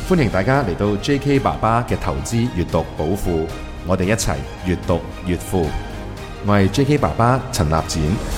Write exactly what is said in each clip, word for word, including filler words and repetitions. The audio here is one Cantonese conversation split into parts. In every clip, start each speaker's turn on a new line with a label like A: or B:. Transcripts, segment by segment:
A: 歡迎大家嚟到 J K 爸爸嘅投資閱讀寶庫，我哋一齊閱讀越富。我係 J K 爸爸陳立展。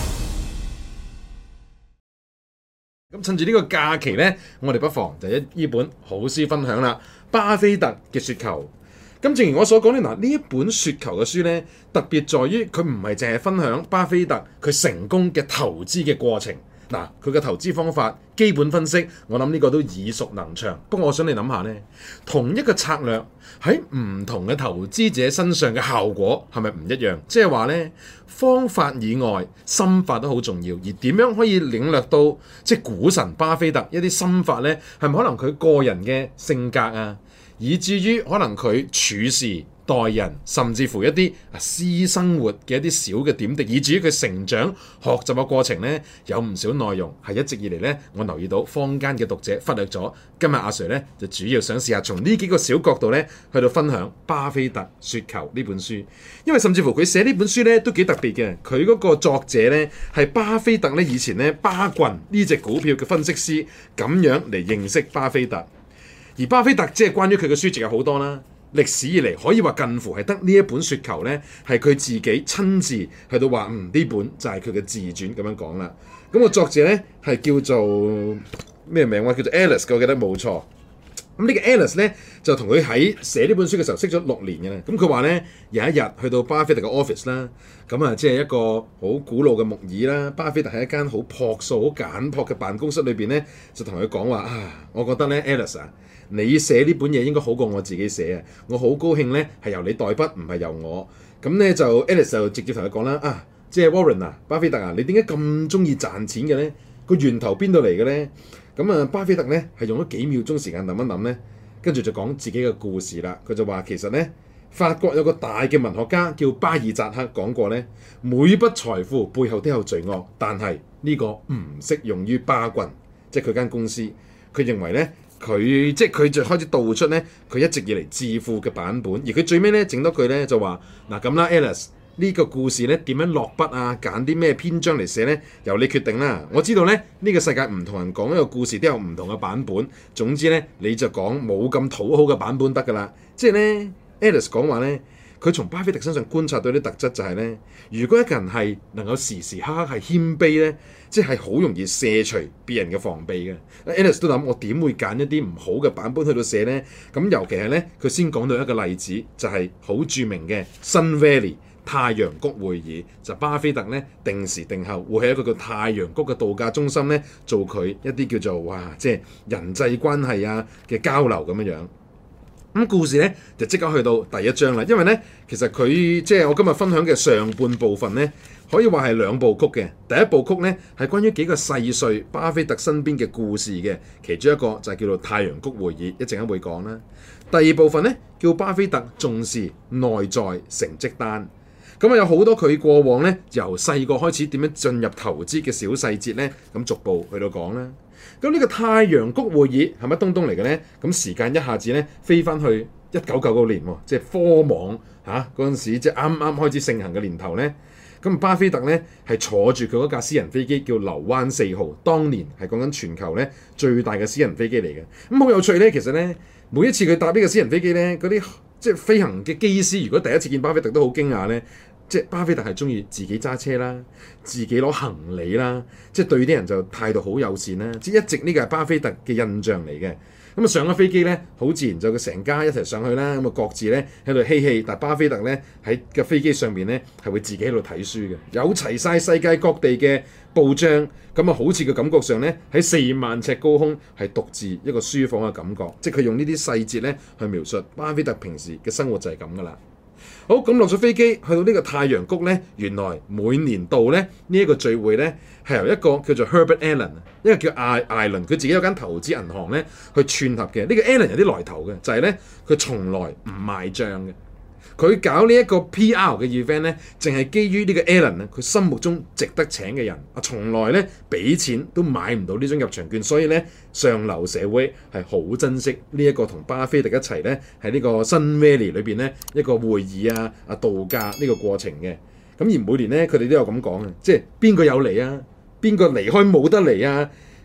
B: 咁趁住呢個假期呢，我哋不妨就一呢本好書分享啦，巴菲特嘅雪球。咁正如我所講咧，嗱呢一本雪球嘅書呢，特別在於佢唔係淨係分享巴菲特佢成功嘅投資嘅過程。嗱，佢嘅投資方法、基本分析，我諗呢個都耳熟能詳。不過我想你諗下呢，同一個策略喺唔同嘅投資者身上嘅效果係咪唔一樣？即係話呢，方法以外，心法都好重要。而點樣可以領略到即係股神巴菲特一啲心法呢？係咪可能佢個人嘅性格啊，以至於可能佢處事待人，甚至乎一啲私生活嘅一啲小嘅點滴，以至於佢成長學習嘅過程呢，有唔少內容係一直以嚟呢，我留意到坊間嘅讀者忽略咗。今日阿 Sir 呢，就主要想試下從呢幾個小角度呢，去到分享巴菲特雪球呢本書，因為甚至乎佢寫呢本書呢，都幾特別嘅。佢嗰個作者呢，係巴菲特呢以前呢巴郡呢隻股票嘅分析師，咁樣嚟認識巴菲特。而巴菲特即係關於佢嘅書籍有好多啦。歷史以嚟可以話近乎係得呢一本雪球呢，係佢自己親自去到話，嗯，呢本就係佢嘅自傳咁樣講啦。咁個作者呢，係叫做咩名話？叫做 Alice， 我記得冇錯。咁呢個 Alice 呢，就同佢喺寫呢本書嘅時候識咗六年嘅啦。咁佢話呢，有一日去到巴菲特嘅 office 啦，咁啊即係一個好古老嘅木椅啦。巴菲特喺一間好樸素、好簡樸嘅辦公室裏邊呢，就同佢講話啊，我覺得呢 Alice 啊，你寫呢本嘢應該好過我自己寫啊！我好高興咧，係由你代筆，唔係由我。咁咧就 Alice 就直接同佢講啦，啊，即係 Warren 啊，巴菲特啊，你點解咁中意賺錢嘅咧？個源頭邊度嚟嘅咧？咁啊，巴菲特咧係用咗幾秒鐘時間諗一諗咧，跟住就講自己嘅故事啦。佢就話其實咧，法國有個大嘅文學家叫巴爾扎克講過咧，每筆財富背後都有罪惡，但係呢個唔適用於巴郡，即係佢間公司。佢認為咧。佢即係佢就開始道出咧，佢一直以嚟致富嘅版本，而佢最尾咧整多句咧就話嗱咁啦 ，Alice 呢個故事咧點樣落筆啊，揀啲咩篇章嚟寫咧，由你決定啦。我知道咧呢、呢個世界唔同人講一個故事都有唔同嘅版本，總之咧你就講冇咁討好嘅版本得㗎啦。即係咧 Alice 講話咧。佢從巴菲特身上觀察到啲特質就係咧，如果一個人係能夠時時刻刻係謙卑咧，即係好容易卸除別人嘅防備嘅。Alice 都諗我點會揀一啲唔好嘅版本去到寫咧？咁尤其係咧，佢先講到一個例子，就係、是、好著名嘅 Sun Valley 太陽谷會議，就巴菲特咧定時定候會喺一個叫太陽谷嘅度假中心咧做佢一啲叫做哇，即係人際關係啊嘅交流咁樣樣。咁故事咧就即刻去到第一章啦，因為咧其實佢即係我今日分享嘅上半部分咧，可以話係兩部曲嘅。第一部曲咧係關於幾個細碎巴菲特身邊嘅故事嘅，其中一個就係叫做太陽谷會議，一陣間會講啦。第二部分咧叫巴菲特重視內在成績單，咁啊有好多佢過往咧由細個開始點樣進入投資嘅小細節咧，咁逐步去到講啦。咁呢個太陽谷會議係乜東東嚟嘅咧？咁時間一下子咧飛翻去一九九九年喎，即係科網嚇嗰陣時，即係啱啱開始盛行嘅年頭咧。咁巴菲特咧係坐住佢嗰架私人飛機叫流灣四號，當年係講緊全球咧最大嘅私人飛機嚟嘅。咁好有趣咧，其實咧每一次佢搭呢個私人飛機咧，嗰啲即係飛行嘅機師，如果第一次見巴菲特都好驚訝咧。即係巴菲特係中意自己揸車啦，自己攞行李啦，即係對啲人就態度好友善啦。即係一直呢個係巴菲特嘅印象嚟嘅。咁啊上咗飛機咧，好自然就佢成家一齊上去啦。咁啊各自咧喺度嬉戲，但係巴菲特咧喺個飛機上邊咧係會自己喺度睇書嘅，有齊晒世界各地嘅報章。咁啊好似個感覺上咧喺四萬尺高空係獨自一個書房嘅感覺。即係佢用呢啲細節咧去描述巴菲特平時嘅生活就係咁噶啦。好，咁落咗飛機去到呢個太陽谷咧，原來每年度咧呢一個聚會咧係由一個叫做 Herbert Allen， 一個叫艾艾倫，佢自己有間投資銀行咧去串合嘅。呢個 Allen 有啲來頭嘅，就係咧佢從來唔賣帳嘅。佢搞呢一個 P R 嘅 event 咧，淨係基於呢個 Allen 咧，佢心目中值得請嘅人啊，從來咧俾錢都買唔到呢張入場券，所以咧上流社會係好珍惜呢一個同巴菲特一齊咧喺呢個 Sun Valley 裏邊咧一個會議啊啊度假呢個過程嘅。咁而每年咧佢哋都有咁講嘅，即係邊個有嚟啊？邊個離開冇得嚟啊？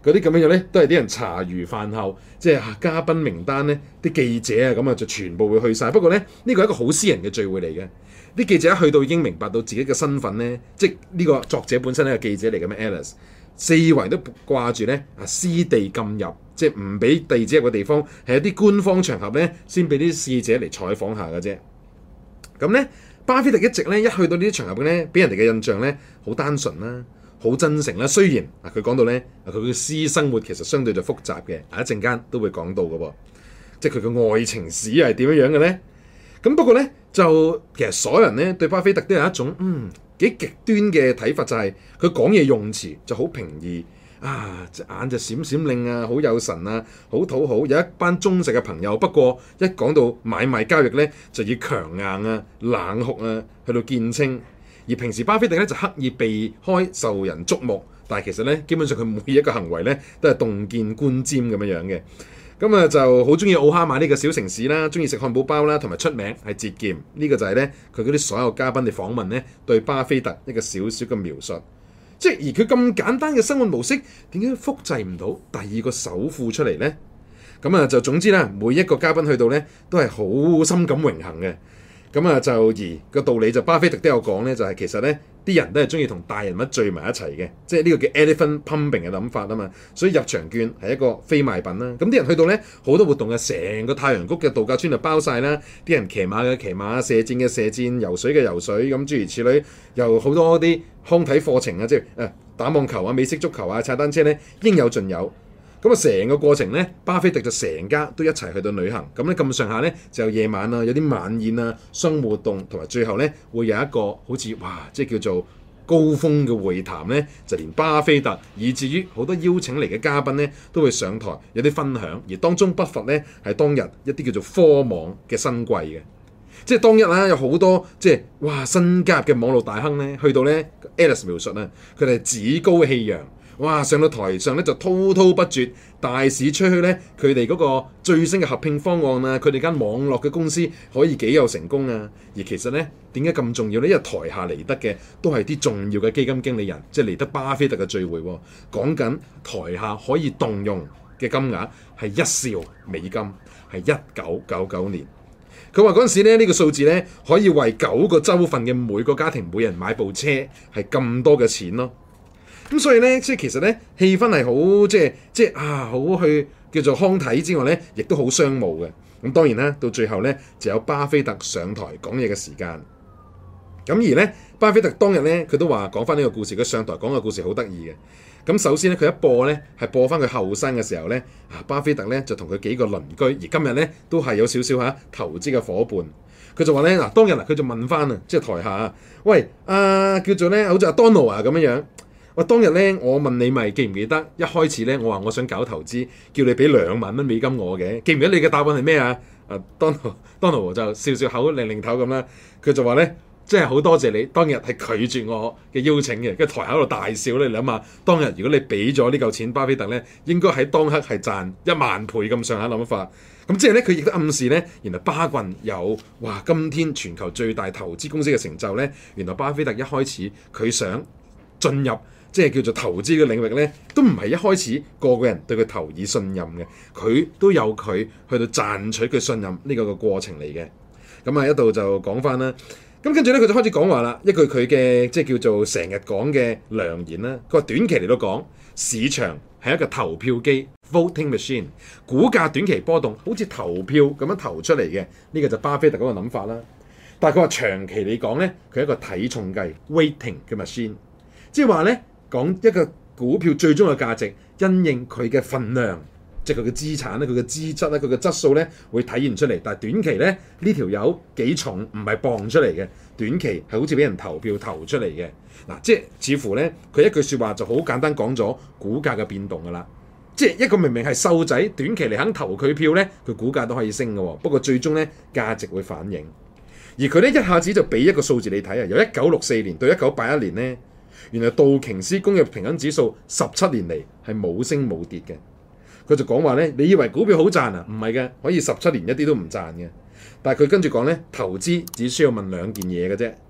B: 嗰啲咁樣樣咧，都係啲人茶餘飯後，即係嘉賓名單咧，啲記者啊咁啊就全部會去晒。不過咧，呢個係一個好私人嘅聚會嚟嘅。啲記者一去到已經明白到自己嘅身份咧，即係呢個作者本身係個記者嚟嘅咩 Alice， 四圍都掛住咧啊私地禁入，即係唔俾記者入嘅地方，係一啲官方場合咧先俾啲記者嚟採訪下嘅啫。咁咧，巴菲特一直咧一去到呢啲場合咧，俾人哋嘅印象咧好單純啦。好真誠啦，雖然啊佢講到咧，佢嘅私生活其實相對就複雜嘅，啊一陣間都會講到嘅噃，即係佢嘅愛情史係點樣樣嘅咧？咁不過咧就其實所有人咧對巴菲特都有一種嗯幾極端嘅睇法，就係佢講嘢用詞就好平易啊，隻眼就閃閃令啊，好有神啊，好討好，有一班忠實嘅朋友。不過一講到買賣交易咧，就要強硬啊、冷酷啊，去到見稱。而平時巴菲特咧就刻意避開受人矚目，但係其實咧基本上佢每一個行為咧都係洞見觀瞻咁樣樣嘅。咁啊就好中意奧哈馬呢個小城市啦，中意食漢堡包啦，同埋出名係節儉。呢、這個就係咧佢嗰啲所有嘉賓嘅訪問咧對巴菲特一個小小嘅描述。即係而佢咁簡單嘅生活模式，點解複製唔到第二個首富出嚟咧？咁啊就總之啦，每一個嘉賓去到咧都係好深感榮幸嘅。咁啊，就而個道理就巴菲特都有講咧，就係、是、其實咧啲人都係中意同大人物聚埋一齊嘅，即係呢個叫 elephant pumping 嘅諗法啊嘛。所以入場券係一個非賣品啦。咁啲人去到咧好多活動嘅，成個太陽谷嘅度假村就包晒啦。啲人騎馬嘅騎馬，射箭嘅射箭，游水嘅游水，咁諸如此類，又好多啲康體課程啊，即係誒打網球啊、美式足球啊、踩單車咧，應有盡有。咁啊，成個過程咧，巴菲特就成家都一齊去到旅行。咁咧咁上下咧，就有夜晚啊，有啲晚宴啊、商務活動，同埋最後咧會有一個好似哇，即係叫做高峰嘅會談咧，就連巴菲特以至於好多邀請嚟嘅嘉賓咧，都會上台有啲分享。而當中不乏咧係當日一啲叫做科網嘅新貴嘅，即係當日啦有好多即係哇新加入嘅網絡大亨咧，去到咧 Alice 描述啊，佢哋趾高氣揚。哇！上到台上咧就滔滔不絕，大肆吹噓咧佢哋嗰個最新嘅合併方案啊，佢哋間網絡嘅公司可以幾有成功啊！而其實咧點解咁重要咧？因為台下嚟得嘅都係啲重要嘅基金經理人，即係嚟得巴菲特嘅聚會喎。講緊台下可以動用嘅金額係一兆美金，係一九九九年。佢話嗰陣時咧呢個數字咧可以為九個州份嘅每個家庭每人買部車，係咁多嘅錢咯。咁所以咧，即係其實咧，氣氛係好即係即係啊，好去叫做康體之外咧，亦都好商務嘅。咁當然啦，到最後咧，就有巴菲特上台講嘢嘅時間。咁而咧，巴菲特當日咧，佢都話講翻呢個故事，佢上台講嘅故事好得意嘅。咁首先咧，佢一播咧係播翻佢後生嘅時候咧，啊巴菲特咧就同佢幾個鄰居，而今日咧都係有少少嚇投資嘅伙伴。佢就話咧嗱，當日嗱佢就問翻啊，即係台下啊，喂啊叫做咧好似阿 Donald 啊咁樣樣。我當日咧，我問你咪記唔記得一開始咧，我話我想搞投資，叫你俾兩萬蚊美金我嘅，記唔記得你嘅答案係咩啊？啊 Donald Donald 就笑笑口擰擰頭咁啦，佢就話咧，即係好多謝你當日係拒絕我嘅邀請嘅，跟住台喺度大笑咧。你諗下，當日如果你俾咗呢嚿錢巴菲特咧，應該喺當刻係賺一萬倍咁上下諗法。咁即係咧，佢亦都暗示咧，原來巴郡有哇，今天全球最大投資公司嘅成就咧，原來巴菲特一開始佢想進入。即係叫做投資嘅領域咧，都唔係一開始個個人對佢投以信任嘅，佢都有佢去到賺取佢信任呢個個過程嚟嘅。咁啊，一度就講翻啦。咁跟住咧，佢就開始講話啦，一句佢嘅即係叫做成日講嘅良言啦。佢話短期嚟到講，市場係一個投票機 （voting machine），股價短期波動，好似投票咁樣投出嚟嘅。呢、這個就巴菲特嗰個諗法啦。但係佢話長期嚟講咧，佢係一個體重計 （weighting） 嘅 machine， 即係話咧。講一個股票最終嘅價值，因應佢嘅份量，即係佢嘅資產咧、佢嘅資質咧、佢嘅質素咧，會體現出嚟。但係短期咧，呢條友幾重唔係磅出嚟嘅，短期係好似俾人投票投出嚟嘅。嗱，即係似乎咧，佢一句説話就好簡單講咗股價嘅變動㗎啦。即係一個明明係瘦仔，短期嚟肯投佢票咧，佢股價都可以升嘅。不過最終咧，價值會反映。而佢咧一下子就俾一個數字你睇啊，由一九六四年到一九八一年咧。原來道瓊斯工業平均指數十七年嚟係冇升冇跌嘅。佢就講話咧，你以為股票好賺啊？唔係嘅，可以十七年一啲都唔賺嘅。但係佢跟住講咧，投資只需要問兩件嘢嘅啫。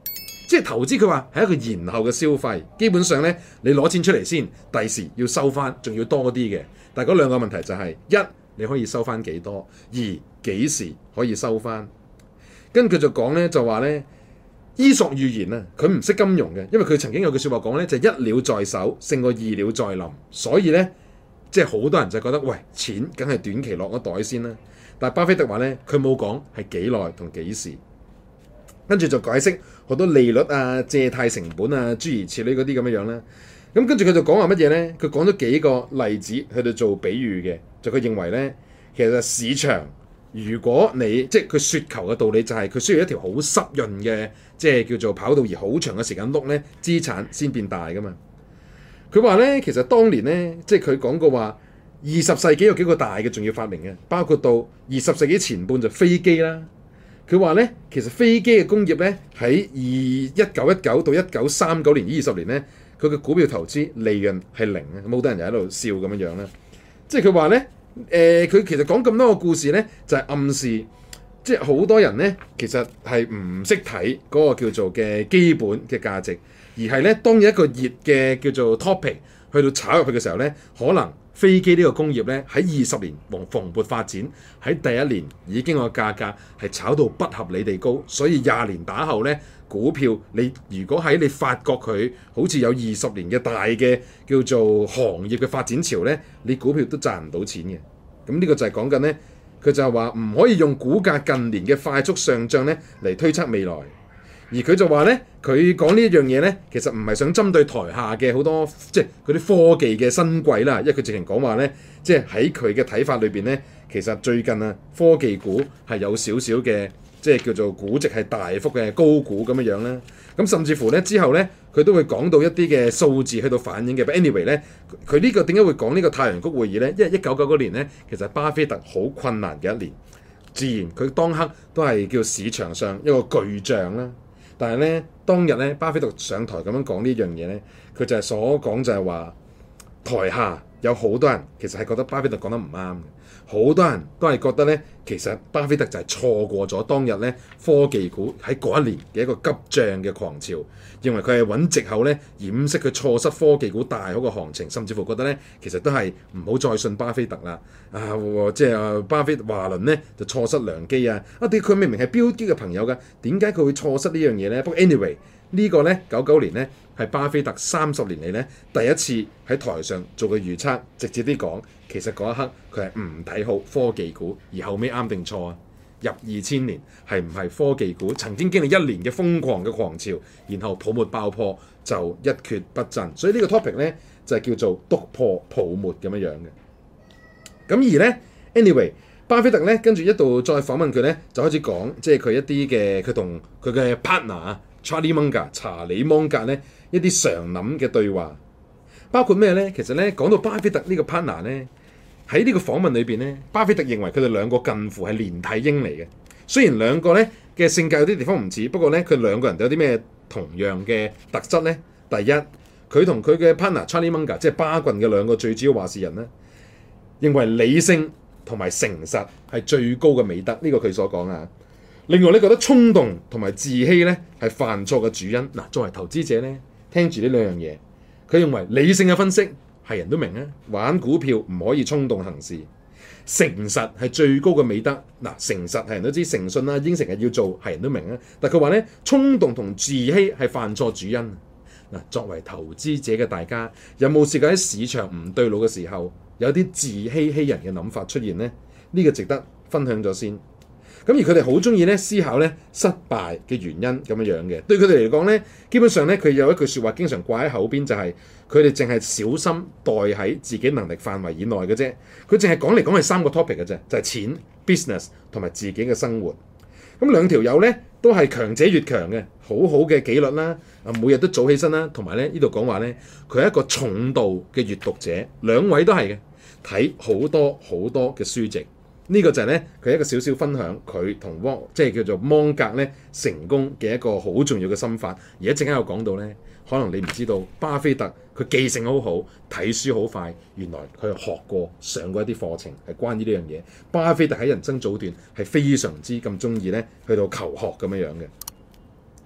B: 即係投資佢話係一個延後嘅消費，基本上咧你攞錢出嚟先，第時要收翻，仲要多啲嘅。但係嗰兩個問題就係、是、一你可以收翻幾多，二幾時可以收翻。跟住就講咧就話咧。伊索寓言啊，佢唔識金融嘅，因為佢曾經有句説話講咧，就係、一鳥在手勝過二鳥在林，所以咧即係好多人就覺得喂，錢梗係短期落個袋先啦。但係巴菲特話咧，佢冇講係幾耐同幾時，跟住就解釋好多利率啊、借貸成本啊、諸如此類嗰啲咁樣樣啦。咁跟住佢就講話乜嘢咧？佢講咗幾個例子去到做比喻嘅，就佢認為咧，其實市場。如果你即係佢雪球嘅道理就係佢需要一條好濕潤嘅，即係叫做跑道而好長嘅時間碌咧，資產先變大噶嘛。佢話咧，其實當年咧，即係佢講過話，二十世紀有幾個大嘅重要發明嘅，包括到二十世紀前半就飛機啦。佢話咧，其實飛機嘅工業咧喺二一九一九到一九三九年呢二十年咧，佢嘅股票投資利潤係零啊，咁好多人就喺度笑咁樣樣啦。即係佢話咧。誒佢、呃、其實講咁多個故事咧，就係、是、暗示，即係好多人咧，其實係唔識睇嗰個叫做嘅基本嘅價值，而係咧當有一個熱嘅叫做 topic 去到炒入去嘅時候咧，可能飛機呢個工業咧喺二十年蓬蓬勃發展，喺第一年已經個價格係炒到不合理地高，所以廿年打後咧，股票你如果喺你發覺佢好似有二十年嘅大嘅叫做行業嘅發展潮咧，你股票都賺唔到錢嘅。咁呢個就係講緊咧，佢就係話唔可以用股價近年嘅快速上漲咧嚟推測未來。而佢就話咧，佢講呢一樣嘢咧，其實唔係想針對台下嘅好多即係嗰啲科技嘅新貴啦，因為佢直情講話咧，即係喺佢嘅睇法裏邊咧，其實最近啊科技股係有少少嘅。即係叫做估值係大幅嘅高估咁樣樣啦，咁甚至乎咧之後咧，佢都會講到一啲嘅數字去到反映嘅。But anyway 咧，佢呢個點解會講呢個太陽谷會議咧？因為一九九九年咧，其實巴菲特好困難嘅一年，自然佢當刻都係叫市場上一個巨象啦。但係咧當日咧，巴菲特上台咁樣講呢樣嘢咧，佢就係所講就係話，台下有好多人其實係覺得巴菲特講得唔啱嘅。好多人都係覺得咧，其實巴菲特就係錯過咗當日咧科技股喺嗰一年嘅一個急漲嘅狂潮，認為佢係揾藉口咧掩飾佢錯失科技股大好嘅行情，甚至乎覺得咧其實都係唔好再信巴菲特啦。啊，即係巴菲特華倫咧就錯失良機啊！啊，啲佢明明係標機嘅朋友㗎，點解佢會錯失呢樣嘢咧？不過 anyway 呢個咧九九年咧係巴菲特三十年嚟咧第一次喺台上做個預測，直接啲講。其實嗰一刻佢係唔睇好科技股，而後尾啱定錯啊？入二千年係唔係科技股曾經經歷一年嘅瘋狂嘅狂潮，然後泡沫爆破就一蹶不振，所以呢個 topic 咧就係叫做篤破泡沫咁樣樣嘅。咁而咧 anyway，巴菲特咧跟住一度再訪問佢咧，就開始講即係佢一啲嘅佢同佢嘅 partner Charlie Munger 查理芒格咧一啲常諗嘅對話，包括咩咧？其實咧講到巴菲特呢個 partner 咧。喺呢個訪問裏邊咧，巴菲特認為佢哋兩個近乎係連體嬰嚟嘅。雖然兩個咧嘅性格有啲地方唔似，不過咧佢兩個人都有啲咩同樣嘅特質咧？第一，佢同佢嘅 partner Charlie Munger 即係巴郡嘅兩個最主要話事人咧，認為理性同埋誠實係最高嘅美德。呢、這個佢所講啊。另外咧覺得衝動同埋自欺咧係犯錯嘅主因。嗱，作為投資者咧，聽住呢兩樣嘢，佢認為理性嘅分析。係人都明啊，玩股票唔可以衝動行事，誠實係最高嘅美德。嗱，誠實係人都知，誠信啦，應承係要做，係人都明啊。但佢話咧，衝動同自欺係犯錯主因。嗱，作為投資者嘅大家，有冇試過喺市場唔對路嘅時候，有啲自欺欺人嘅諗法出現呢？呢、這個值得分享咗先。咁而佢哋好中意咧思考咧失敗嘅原因咁樣樣嘅，對佢哋嚟講咧，基本上咧佢有一句説話經常掛喺口邊，就係佢哋淨係小心待喺自己能力範圍以內嘅啫。佢淨係講嚟講係三個 topic 嘅啫，就係錢、business 同埋自己嘅生活。咁兩條友咧都係強者越強嘅，好好嘅紀律啦，啊每日都早起身啦，同埋咧呢度講話咧佢係一個重度嘅閱讀者，兩位都係嘅，睇好多好多嘅書籍。呢個就係咧，佢一個少少分享，佢同汪即係叫做芒格咧成功嘅一個好重要嘅心法。而一陣間有講到咧，可能你唔知道，巴菲特佢記性好好，睇書好快，原來佢學過上過一啲課程係關於呢樣嘢。巴菲特喺人生早段係非常之咁中意咧去到求學咁樣樣嘅。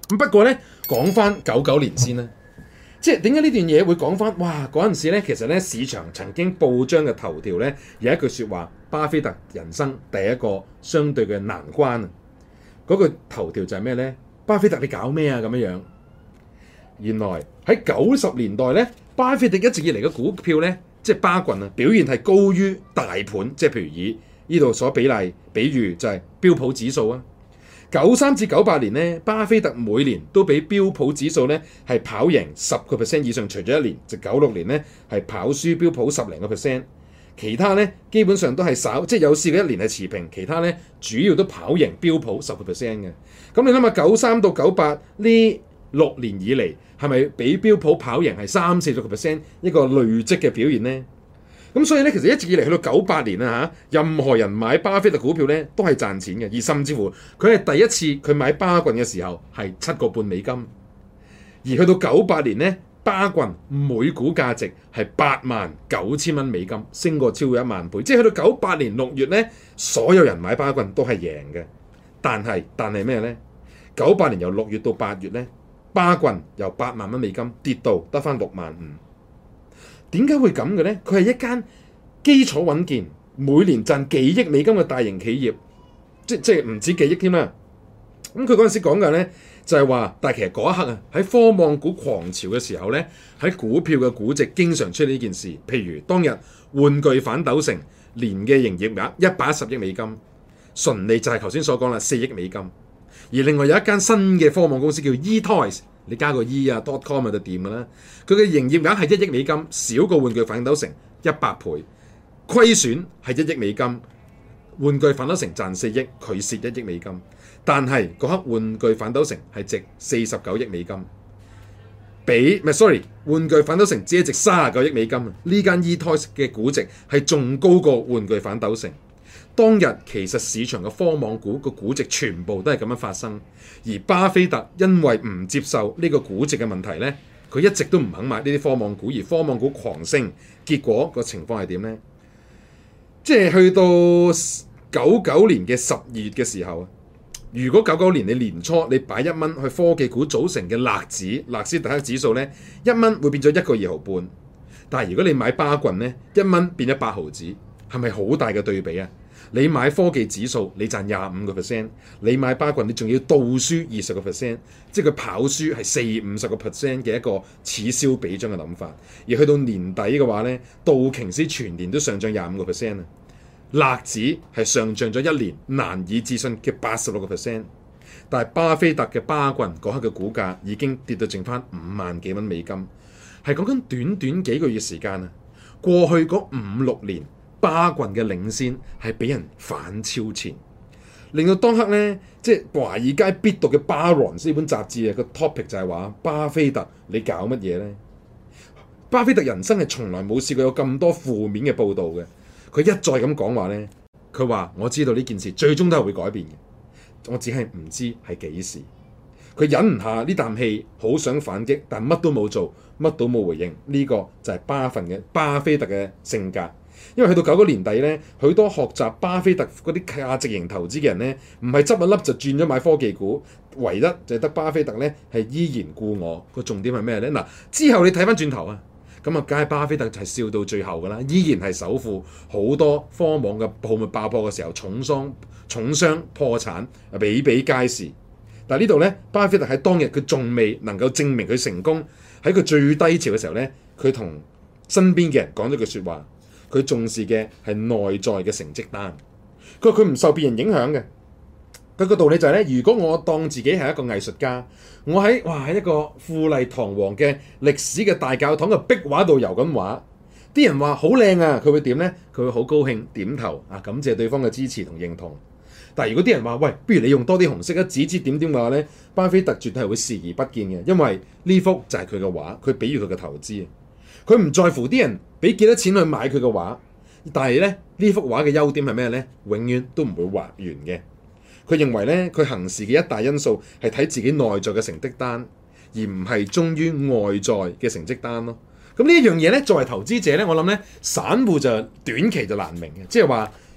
B: 咁不過咧，講翻九九年先啦，即係點解呢段嘢會講翻？哇！嗰陣時咧，其實咧市場曾經報章嘅頭條咧有一句説話：巴菲特人生第一個相對嘅難關啊！嗰句頭條就係咩咧？巴菲特你搞咩啊？咁樣樣。原來喺九十年代咧，巴菲特一直以嚟嘅股票咧，即係巴郡啊，表現係高於大盤，即係譬如以呢度所比例，比喻就係標普指數啊。九三至九八年咧，巴菲特每年都比標普指數咧係跑贏十個 percent 以上，除咗一年就九六年咧係跑輸標普十零個 percent，其他咧基本上都係稍即係有試過一年係持平，其他咧主要都跑贏標普十個 percent 嘅。咁你諗下九三到九八呢六年以嚟係咪比標普跑贏係三四十個 percent 一個累積嘅表現呢？咁所以咧，其實一直以嚟去到九八年啊嚇，任何人買巴菲特股票咧都係賺錢嘅，而甚至乎佢係第一次佢買巴郡嘅時候係七個半美金，而去到九八年咧，巴郡每股價值係八萬九千蚊美金，升過超過一萬倍，即係去到九八年六月咧，所有人買巴郡都係贏嘅。但係但係咩咧？九八年由六月到八月咧，巴郡由八萬蚊美金跌到得返六萬五。點解會咁嘅咧？佢係一間基礎穩健、每年賺幾億美金嘅大型企業，即即係唔止幾億添啦。咁佢嗰陣時講嘅咧就係話，但係其實嗰一刻啊，喺科網股狂潮嘅時候咧，喺股票嘅估值經常出現呢件事。譬如當日玩具反斗城年嘅營業額一百一十億美金，純利就係頭先所講啦，四億美金。而另外有一間新嘅科網公司叫 eToys。你加個 e 啊 .com 就掂㗎啦，佢嘅營業額係一億美金，少過玩具反斗城一百倍，虧損係一億美金，玩具反斗城賺四億，佢蝕一億美金，但係嗰刻玩具反斗城係值四十九億美金，比唔係 sorry， 玩具反斗城只係值三十九億美金啊！呢間 eToys 嘅估值係仲高過玩具反斗城。當日其實市場嘅科網股個估值全部都係咁樣發生，而巴菲特因為唔接受呢個估值嘅問題呢，佢一直都唔肯買呢啲科網股，而科網股狂升，結果個情況係點呢？即係去到九九年嘅十二月嘅時候，如果九九年你年初你擺一蚊去科技股組成嘅納指納斯達克指數呢，一蚊會變咗一個二毫半，但係如果你買巴郡呢，一蚊變咗八毫子，係咪好大嘅對比啊？你買科技指數，你賺廿五個 percent；你買巴郡，你仲要倒輸二十個 percent，即係佢跑輸係四五十個 percent 嘅一個此消彼長嘅諗法。而去到年底嘅話咧，道瓊斯全年都上漲廿五個 percent 啊，納指係上漲咗一年難以置信嘅八十六個 percent。但係巴菲特嘅巴郡嗰刻嘅股價已經跌到剩翻五萬幾蚊美金，係講緊短短幾個月時間啊！過去嗰五六年，巴郡嘅領先係俾人反超前，令到當刻咧，即係華爾街必讀嘅《Barron's》呢本雜誌啊，個 topic 就係話巴菲特你搞乜嘢咧？巴菲特人生係從來冇試過有咁多負面嘅報導嘅，佢一再咁講話咧，佢話我知道呢件事最終都係會改變嘅，我只係唔知係幾時。佢忍唔下呢啖氣，好想反擊，但乜都冇做，乜都冇回應。呢、這個就係巴份嘅巴菲特嘅性格。因為去到九九年底咧，許多學習巴菲特嗰啲價值型投資嘅人咧，唔係執一粒就轉咗買科技股，唯一就係得巴菲特咧係依然故我。個重點係咩咧？嗱，之後你睇翻轉頭啊，咁啊，梗係巴菲特就係笑到最後噶啦，依然係首富，好多科網嘅泡沫爆破嘅時候，重傷重傷破產比比皆是。但係呢度咧，巴菲特喺當日佢仲未能夠證明佢成功，喺佢最低潮嘅時候咧，佢同身邊嘅人講咗句説話。佢重視嘅係內在嘅成績單，佢話佢唔受別人影響嘅。佢個道理就係咧，如果我當自己係一個藝術家，我喺哇喺一個富麗堂皇嘅歷史嘅大教堂嘅壁畫度油緊畫，啲人話好靚啊，佢會點咧？佢會好高興點頭啊，感謝對方嘅支持同認同。但係如果啲人話喂，不如你用多啲紅色啊，指指點點嘅話咧，巴菲特絕對係會視而不見嘅，因為呢幅就係佢嘅畫，佢比喻佢嘅投資。佢唔在乎啲人俾幾多錢去買佢嘅畫，但係咧呢幅畫嘅優點係咩咧？永遠都唔會畫完嘅。佢認為咧，佢行事嘅一大因素係睇自己內在嘅成績單，而唔係忠於外在嘅成績單咯。咁呢一樣嘢咧，作為投資者咧，我諗咧，散戶就短期就難明嘅，即係話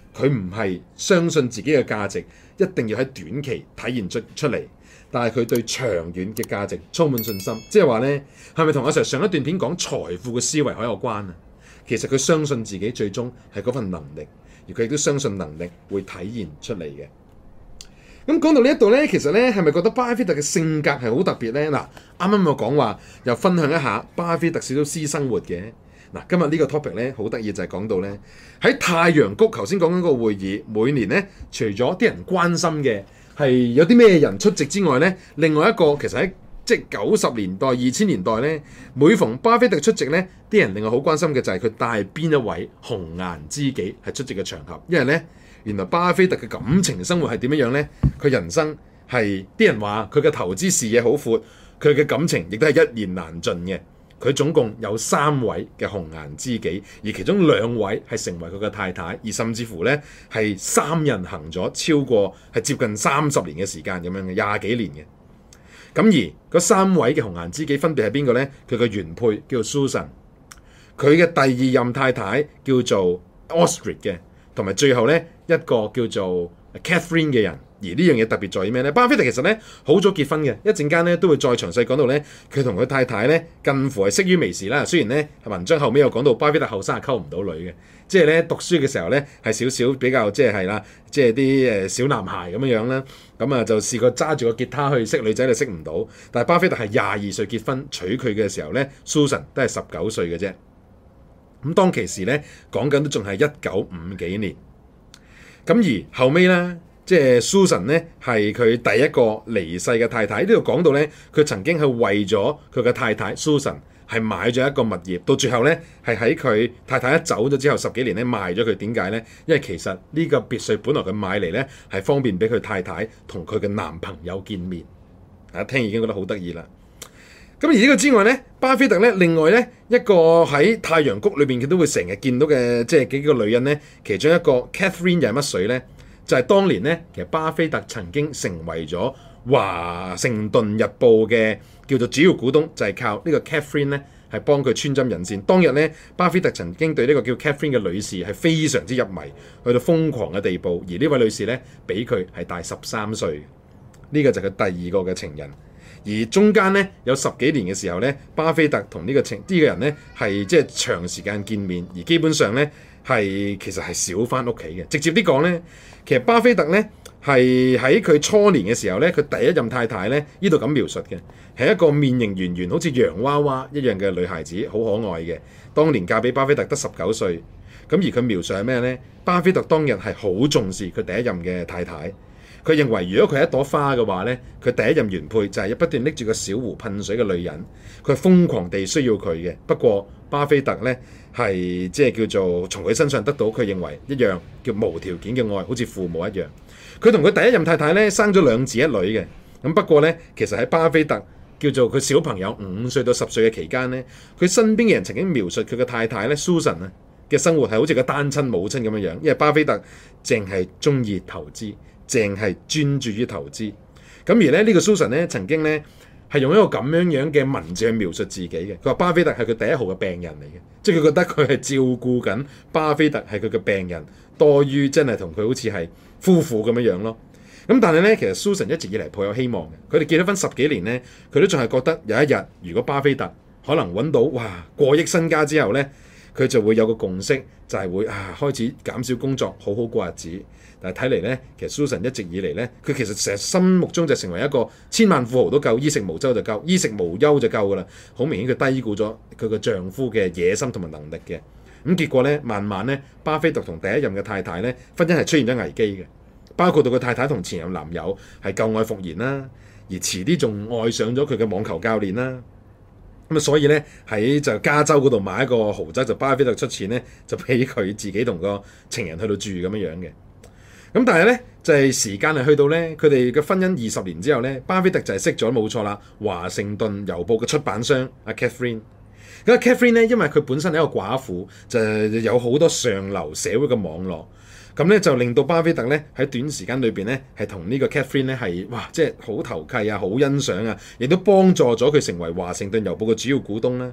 B: 佢唔係相信自己嘅價值一定要喺短期體現出出嚟，但係佢對長遠嘅價值充滿信心。即係話呢，係咪同阿 Sir 上一段片講財富嘅思維好有關啊？其實佢相信自己最終係嗰份能力，而佢亦都相信能力會體現出嚟嘅。咁講到呢一度呢，其實呢係咪覺得巴菲特嘅性格係好特別呢？嗱，啱啱我講話又分享一下巴菲特少少私生活嘅。嗱，今日呢個 topic 咧好得意，就係講到咧喺太陽谷頭先講緊個會議，每年咧除咗啲人關心嘅係有啲咩人出席之外咧，另外一個其實喺即係九十年代、二千年代咧，每逢巴菲特出席咧，啲人另外好關心嘅就係佢帶邊一位紅顏知己係出席嘅場合，因為咧原來巴菲特嘅感情生活係點樣樣咧？佢人生係啲人話佢嘅投資視野好闊，佢嘅感情亦都係一言難盡嘅。佢總共有三位嘅紅顏知己，而其中兩位係成為佢嘅太太，而甚至乎咧係三人行咗超過係接近三十年嘅時間咁樣嘅廿幾年嘅。咁而嗰三位嘅紅顏知己分別係邊個咧？佢嘅原配叫做 Susan， 佢嘅第二任太太叫做 Astrid 嘅，同埋最後咧一個叫做 Catherine 嘅人。而呢樣嘢特別在於咩咧？巴菲特其實咧好早結婚嘅，一陣間咧都會再詳細講到咧，佢同佢太太咧近乎係識於微時啦。雖然咧文章後尾有講到巴菲特後生係溝唔到女嘅，即係咧讀書嘅時候咧係少少比較即係係啦，即係啲誒小男孩咁樣樣啦。咁啊就試過揸住個吉他去識女仔就識唔到。但係巴菲特係廿二歲結婚娶佢嘅時候咧 ，Susan 都係十九歲嘅啫。咁當其時咧講緊都仲係一九五幾年。咁而後尾咧。即係 Susan 咧，係佢第一個離世嘅太太。呢度講到咧，佢曾經係為咗佢嘅太太 Susan 係買咗一個物業，到最後咧係喺佢太太一走咗之後十幾年咧賣咗佢。點解咧？因為其實呢個別墅本來佢買嚟咧係方便俾佢太太同佢嘅男朋友見面。大家聽已經覺得好得意啦。咁而呢個之外咧，巴菲特咧另外咧一個喺太陽谷裏邊佢都會成日見到嘅即係幾個女人咧，其中一個 Catherine 又係乜水咧？就係當年咧，其實巴菲特曾經成為咗華盛頓日報嘅叫做主要股東，就係、是、靠呢個 Catherine 咧係幫佢穿針引線。當日咧，巴菲特曾經對呢個叫 Catherine 嘅女士係非常之入迷，去到瘋狂嘅地步。而呢位女士咧，比佢係大十三歲。呢、這個就係佢第二個嘅情人。而中間咧有十幾年嘅時候咧，巴菲特同呢個情呢、這個人咧係即係長時間見面，而基本上咧係其實係少返屋企嘅。直接啲講咧。其實巴菲特咧係喺佢初年嘅時候咧，佢第一任太太咧呢度咁描述嘅，係一個面型圓圓好似洋娃娃一樣嘅女孩子，好可愛嘅。當年嫁俾巴菲特得十九歲，咁而佢描述係咩咧？巴菲特當日係好重視佢第一任嘅太太，佢認為如果佢係一朵花嘅話咧，佢第一任原配就係不斷拎住個小壺噴水嘅女人，佢係瘋狂地需要佢嘅。不過巴菲特咧係即係叫做從佢身上得到佢認為一樣叫無條件嘅愛，好似父母一樣。佢同佢第一任太太咧生咗兩子一女嘅。咁不過咧，其實喺巴菲特叫做佢小朋友五歲到十歲嘅期間咧，佢身邊嘅人曾經描述佢嘅太太咧 Susan 啊嘅生活係好似個單親母親咁樣樣，因為巴菲特淨係中意投資，淨係專注於投資。咁而咧呢個 Susan 咧曾經咧係用一個咁樣樣嘅文字去描述自己嘅。佢話巴菲特係佢第一號嘅病人嚟嘅，即係佢覺得佢係照顧緊巴菲特係佢嘅病人，多於真係同佢好似係夫婦咁樣樣咯。咁但係咧，其實 Susan 一直以嚟抱有希望嘅。佢哋結咗婚十幾年咧，佢都仲係覺得有一日如果巴菲特可能揾到哇過億身家之後咧，佢就會有個共識，就係、是、會啊開始減少工作，好好過日子。但係睇嚟咧，其實 Susan 一直以嚟咧，佢其實成日心目中就成為一個千萬富豪都夠，衣食無憂就夠，衣食無憂就夠噶啦。好明顯佢低估咗佢個丈夫嘅野心同埋能力嘅。咁結果咧，慢慢咧，巴菲特同第一任嘅太太咧，婚姻係出現咗危機嘅，包括到佢太太同前任男友係舊愛復燃啦，而遲啲仲愛上咗佢嘅網球教練啦。咁啊，所以咧喺就加州嗰度買一個豪宅，就巴菲特出錢咧，就俾佢自己同個情人去到住咁樣樣嘅。咁但係咧就係、是、時間係去到咧，佢哋嘅婚姻二十年之後咧，巴菲特就係識咗冇錯啦，華盛頓郵報嘅出版商阿 Catherine。咁 Catherine 咧，因為佢本身係一個寡婦，就有好多上流社會嘅網絡，咁咧就令到巴菲特咧喺短時間裏邊咧係同呢個 Catherine 咧係哇，即係好投契啊，好欣賞啊，亦都幫助咗佢成為華盛頓郵報嘅主要股東啦。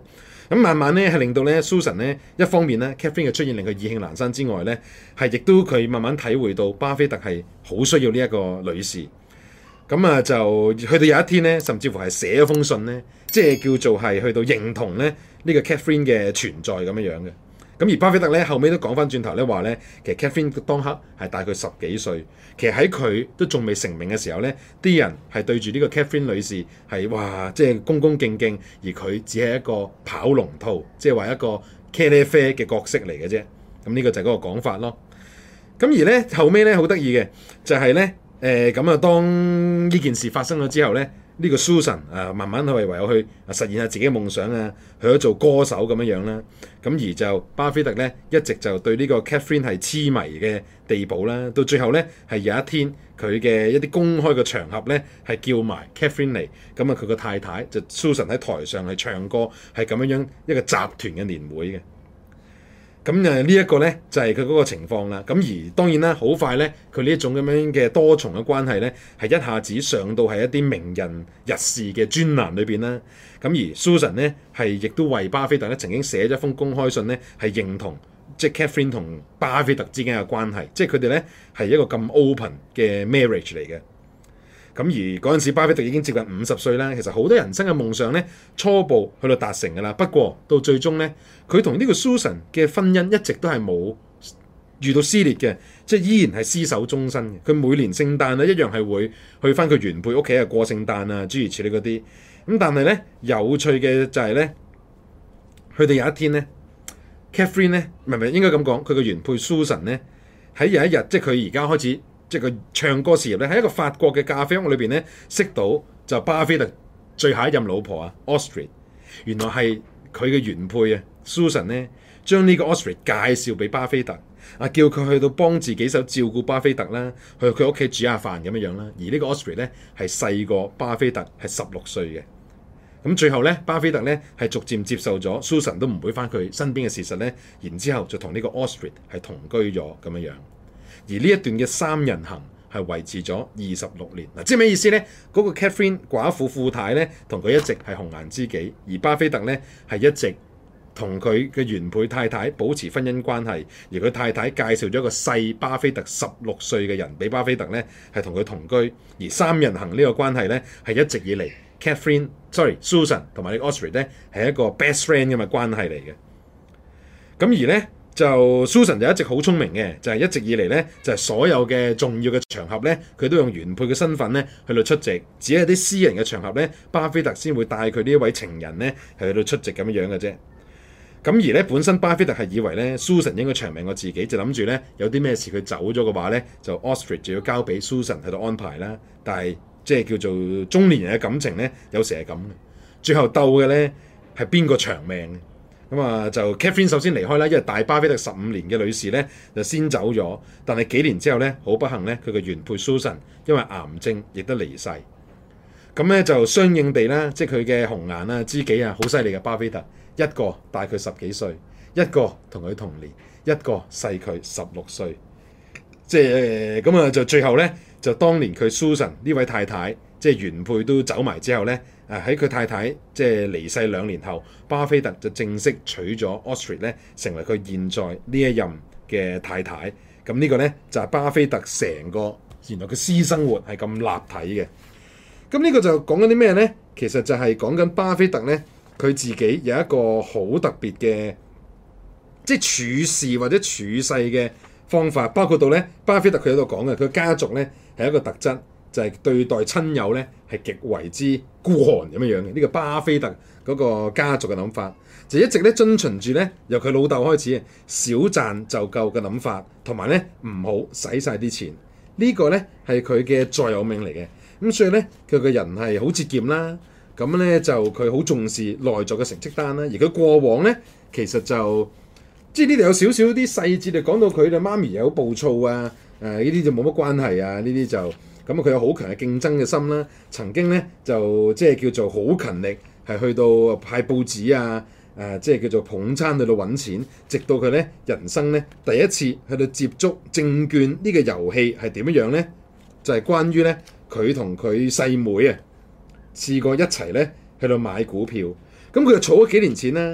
B: 咁慢慢咧係令到咧 Susan 咧一方面咧 Catherine 嘅出現令佢意興闌珊之外咧，係亦都佢慢慢體會到巴菲特係好需要呢一個女士。咁啊就去到有一天咧，甚至乎係寫咗封信咧，即係叫做係去到認同咧呢個 Catherine 嘅存在咁樣樣嘅。咁而巴菲特咧後尾都講翻轉頭咧話咧，其實 Catherine 當刻係大佢十幾歲，其實喺佢都仲未成名嘅時候咧，啲人係對住呢個 Catherine 女士係哇，即係恭恭敬敬，而佢只係一個跑龍套，即係話一個茄喱啡嘅角色嚟嘅啫。咁呢個就係嗰個講法咯。咁而咧後尾咧好得意嘅就係咧。誒咁啊！當呢件事發生咗之後咧，呢、這個 Susan 啊，慢慢去唯有去實現下自己嘅夢想啊，去咗做歌手咁樣樣啦。咁而就巴菲特咧，一直就對呢個 Catherine 係痴迷嘅地步啦。到最後咧，係有一天佢嘅一啲公開嘅場合咧，係叫埋 Catherine 嚟。咁啊，佢個太太就 Susan 喺台上係唱歌，係咁樣樣一個集團嘅年會嘅。咁誒呢一個咧就係佢嗰個情況啦。咁而當然啦，好快咧，佢呢一種咁樣嘅多重嘅關係咧，係一下子上到係一啲名人日事嘅專欄裏邊啦。咁而 Susan 咧係亦都為巴菲特咧曾經寫咗一封公開信咧，係認同即係 Catherine 同巴菲特之間嘅關係，即係佢哋咧係一個咁 open 嘅 marriage 嚟嘅。咁而嗰陣時，巴菲特已經接近五十歲啦。其實好多人生嘅夢想咧，初步去到達成㗎啦。不過到最終咧，佢同呢個 Susan 嘅婚姻一直都係冇遇到撕裂嘅，即係依然係廝守終身嘅。佢每年聖誕咧一樣係會去返佢原配屋企啊過聖誕啊，諸如此類嗰啲。咁但係咧有趣嘅就係咧，佢哋有一天咧 ，Catherine 咧，唔係唔係應該咁講，佢嘅原配 Susan 咧喺有一日，即係佢而家開始。即係佢唱歌事業咧，喺一個法國嘅咖啡屋裏邊咧，識到就巴菲特最後一任老婆啊 Astrid， 原來係佢嘅原配啊 Susan 咧，將呢個 Astrid 介紹俾巴菲特，啊叫佢去到幫自己手照顧巴菲特啦，去佢屋企煮下飯咁樣樣啦。而呢個 Astrid 咧係細過巴菲特係十六歲嘅。咁最後咧，巴菲特咧係逐漸接受咗 Susan 都唔會翻佢身邊嘅事實咧，然之後就同呢個 Astrid 係同居咗咁樣樣。而呢一段嘅三人行係維持咗二十六年嗱，即係咩意思咧？嗰、那個 Catherine 寡婦富太咧，同佢一直係紅顏知己，而巴菲特咧係一直同佢嘅原配太太保持婚姻關係，而佢太太介紹咗一個細巴菲特十六歲嘅人俾巴菲特咧，係同佢同居，而三人行呢個關係咧係一直以嚟 Catherine sorry Susan 同埋呢個 Astrid 咧係一個 best friend 咁嘅關係嚟嘅。咁而咧。就 Susan 就一直好聰明嘅，就係、是、一直以嚟咧，就係、是、所有嘅重要嘅場合咧，佢都用原配嘅身份咧去到出席，只係啲私人嘅場合咧，巴菲特先會帶佢呢一位情人咧係去到出席咁樣樣嘅啫。咁而咧本身巴菲特係以為咧 Susan 應該長命過自己，就諗住咧有啲咩事佢走咗嘅話咧，就 Astrid 就要交俾 Susan 喺度安排啦。但係即係叫做中年人嘅感情咧，有時係咁嘅，最後鬥嘅咧係邊個長命？咁啊，就 Catherine 首先離開啦，因為大巴菲特十五年嘅女士咧就先走咗，但係幾年之後咧，好不幸咧，佢嘅原配 Susan 因為癌症亦都離世。咁咧就相應地啦，即係佢嘅紅顏啊、知己啊，好犀利嘅巴菲特，一個大佢十幾歲，一個同佢同年，一個細佢十六歲。即係咁啊，就最後咧，就當年佢 Susan 呢位太太，即係原配都走埋之後咧。誒喺佢太太即係離世兩年後，巴菲特就正式娶咗 Astrid 咧，成為佢現在呢一任嘅太太。咁呢個咧就係、是、巴菲特成個原來嘅私生活係咁立體嘅。咁呢個就講緊啲咩咧？其實就係講緊巴菲特咧，佢自己有一個好特別嘅，即係處事或者處世嘅方法，包括到咧巴菲特佢喺度講嘅，佢家族咧係一個特質。就係對待親友咧係極為之孤寒咁樣樣嘅，呢、這個巴菲特嗰個家族嘅諗法，就一直咧遵循住咧由佢老豆開始少賺就夠嘅諗法，同埋咧唔好使晒啲錢，這個、呢個咧係佢嘅座右銘嚟嘅。咁所以咧佢個人係好節儉啦，咁咧就佢好重視內在嘅成績單啦。而佢過往咧其實就即係呢度有少少啲細節就講到佢嘅媽咪有暴躁啊，誒呢啲就冇乜關係啊，呢啲就。咁佢有好強嘅競爭嘅心啦，曾經咧就即係叫做好勤力，係去到派報紙啊，誒、呃、即係叫做捧餐去到揾錢，直到佢咧人生咧第一次去到接觸證券呢個遊戲係點樣樣咧？就係、是、關於咧佢同佢細妹啊試過一齊咧去到買股票，咁佢就儲咗幾年錢啦，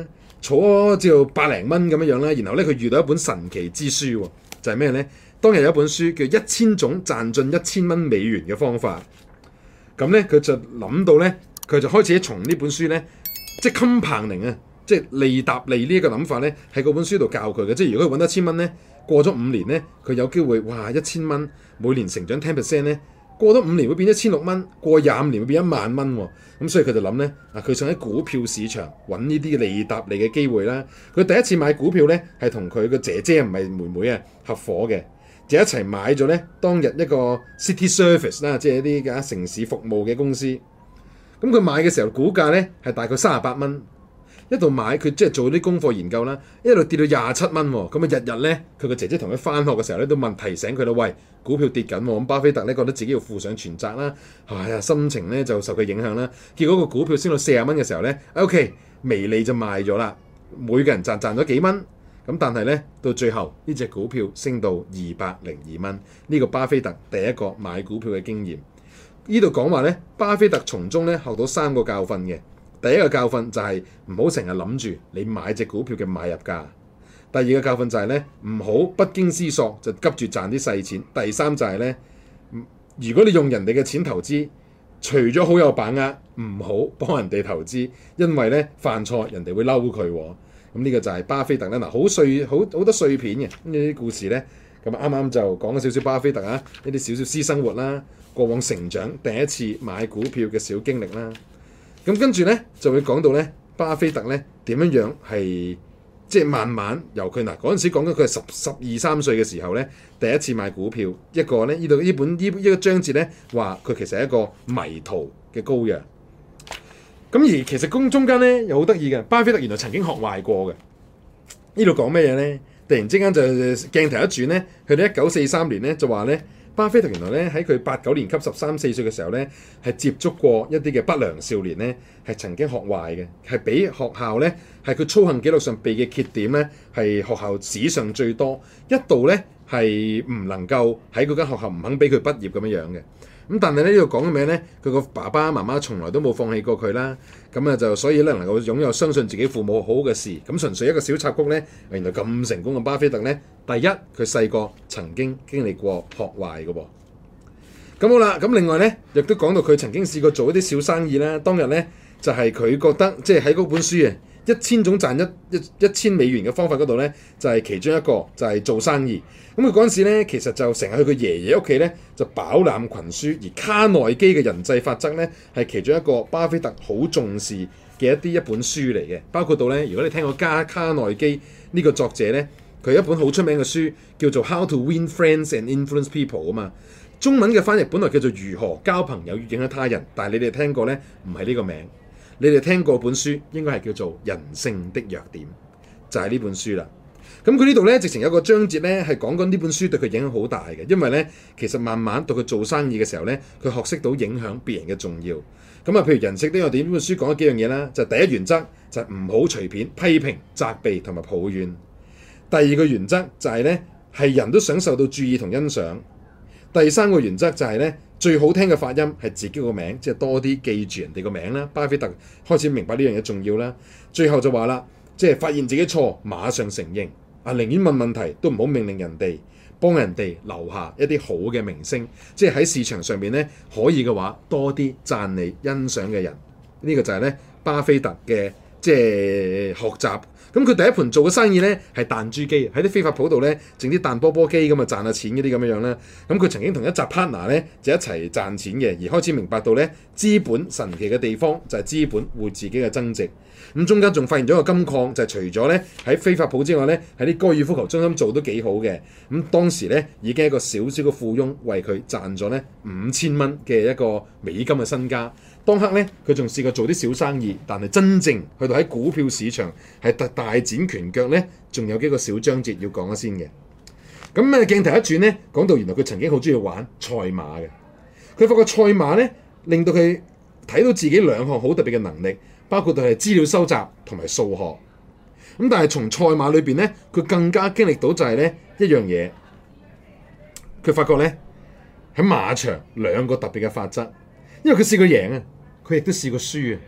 B: 坐咗就百零蚊咁樣樣啦。然後咧佢遇到一本神奇之書喎，就係咩咧？當日有一本書叫《一千種賺進一千蚊美元嘅方法》。咁咧佢就諗到咧，佢就開始從呢本書咧，即係 compounding 啊，即係利搭利呢一個諗法咧，喺嗰本書度教佢嘅。即係如果佢揾得一千蚊咧，過咗五年咧，佢有機會哇一千蚊每年成長 ten percent 咧，過咗五年會變一千六蚊，過廿五年會變一萬蚊喎。咁所以佢就諗咧，啊佢想喺股票市場揾呢啲利搭利嘅機會啦。佢第一次買股票咧，係同佢個姐姐唔係妹妹啊合夥嘅。就一齊買咗咧，當日一個 City Service 啦，即係一啲嘅城市服務嘅公司。咁佢買嘅時候，股價咧係大概三十八蚊。一度買佢即係做啲功課研究啦，一路跌到廿七蚊喎。咁啊日日咧，佢個姐姐同佢返學嘅時候咧，都問提醒佢啦，喂，股票跌緊喎。咁巴菲特咧覺得自己要負上全責啦，哎呀心情咧就受佢影響啦。結果個股票升到四十蚊嘅時候咧 ，OK 微利就賣咗啦，每個人賺賺咗幾蚊。咁但係咧，到最後呢隻股票升到二百零二蚊，呢個巴菲特第一個買股票嘅經驗。呢度講話咧，巴菲特從中咧學到三個教訓嘅。第一個教訓就係唔好成日諗住你買隻股票嘅買入價。第二個教訓就係咧，唔好不經思索就急住賺啲細錢。第三就係咧，如果你用人哋嘅錢投資，除咗好有把握，唔好幫人哋投資，因為咧犯錯人哋會嬲佢喎。咁呢個就係巴菲特咧，嗱好碎好好多碎片嘅呢啲故事咧。咁啱啱就講咗少少巴菲特啊，呢啲少少私生活啦，過往成長第一次買股票嘅小經歷啦。咁跟住咧就會講到咧，巴菲特咧點樣樣係即係慢慢由佢嗱嗰陣時講緊佢係十十二三歲嘅時候咧，第一次買股票。一個咧呢度呢本呢一個章節咧話佢其實係一個迷途嘅羔羊。咁而其實中中間咧又好得意嘅，巴菲特原來曾經學壞過嘅。呢度講咩嘢咧？突然之間就鏡頭一轉咧，去到一九四三年咧就話咧，巴菲特原來咧喺佢八九年級十三四歲嘅時候咧，係接觸過一啲嘅不良少年咧，係曾經學壞嘅，係俾學校咧係佢操行記錄上被嘅缺點咧，係學校史上最多，一度咧係唔能夠喺嗰間學校唔肯俾佢畢業咁樣樣嘅。咁但係咧呢度講嘅咩咧？佢個爸爸媽媽從來都冇放棄過佢啦。咁啊就所以咧能夠擁有相信自己父母好嘅事。咁純粹一個小插曲咧，原來咁成功嘅巴菲特咧，第一佢細個曾經經歷過學壞嘅喎。咁好啦，咁另外咧亦都講到佢曾經試過做一啲小生意啦。當日咧就係、是、佢覺得即係喺嗰本書啊，一千種賺一一一千美元嘅方法嗰度咧，就係、是、其中一個就係、是、做生意。咁佢嗰陣時咧，其實就成日去佢爺爺屋企咧，就飽覽群書。而卡內基嘅人際法則咧，係其中一個巴菲特好重視嘅一啲一本書嚟嘅。包括到咧，如果你聽過加卡內基呢個作者咧，佢有一本好出名嘅書叫做《How to Win Friends and Influence People》啊嘛。中文嘅翻譯本來叫做如何交朋友與影響他人，但係你哋聽過咧，唔係呢個名。你哋聽過本書應該係叫做《人性的弱點》，就係、是、呢本書啦。咁佢呢度咧，直情有個章節咧，係講緊呢本書對佢影響好大嘅，因為咧，其實慢慢到佢做生意嘅時候咧，佢學識到影響別人嘅重要。咁啊，譬如人性的弱點呢本書講咗幾樣嘢啦，就係、第一原則就係唔好隨便批評、責備同埋抱怨。第二個原則就係咧，係人都想受到注意同欣賞。第三個原則就係咧，最好聽嘅發音係自己個名，即係多啲記住人哋個名啦。巴菲特開始明白呢樣嘢重要啦。最後就話啦，即係發現自己錯，馬上承認。啊，寧願問問題都唔好命令人哋，幫人哋留下一啲好嘅名聲，即係喺市場上面咧可以嘅話，多啲讚你欣賞嘅人，呢、呢個就係咧巴菲特嘅即係學習。咁佢第一盤做嘅生意咧係彈珠機，喺啲飛髮鋪度咧整啲彈波波機咁啊賺下錢嗰啲咁樣樣啦。咁佢曾經同一集 partner 咧就一齊賺錢嘅，而開始明白到咧資本神奇嘅地方就係資本會自己嘅增值。咁中間仲發現咗個金礦，就係、是、除咗咧喺飛髮鋪之外咧，喺啲高爾夫球中心做都幾好嘅。咁當時咧已經係一個小小嘅富翁，為佢賺咗咧五千蚊嘅一個美金嘅身家。當刻咧佢仲試過做啲小生意，但係真正去到喺股票市場係大大展拳腳咧，仲有幾個小章節要講一先嘅。咁誒鏡頭一轉咧，講到原來佢曾經好中意玩賽馬嘅。佢發覺賽馬咧令到佢睇到自己兩項好特別嘅能力。包括到係資料收集同埋數學，咁但係從賽馬裏邊咧，佢更加經歷到就係咧一樣嘢，佢發覺咧喺馬場兩個特別嘅法則，因為佢試過贏啊，佢亦都試過輸啊。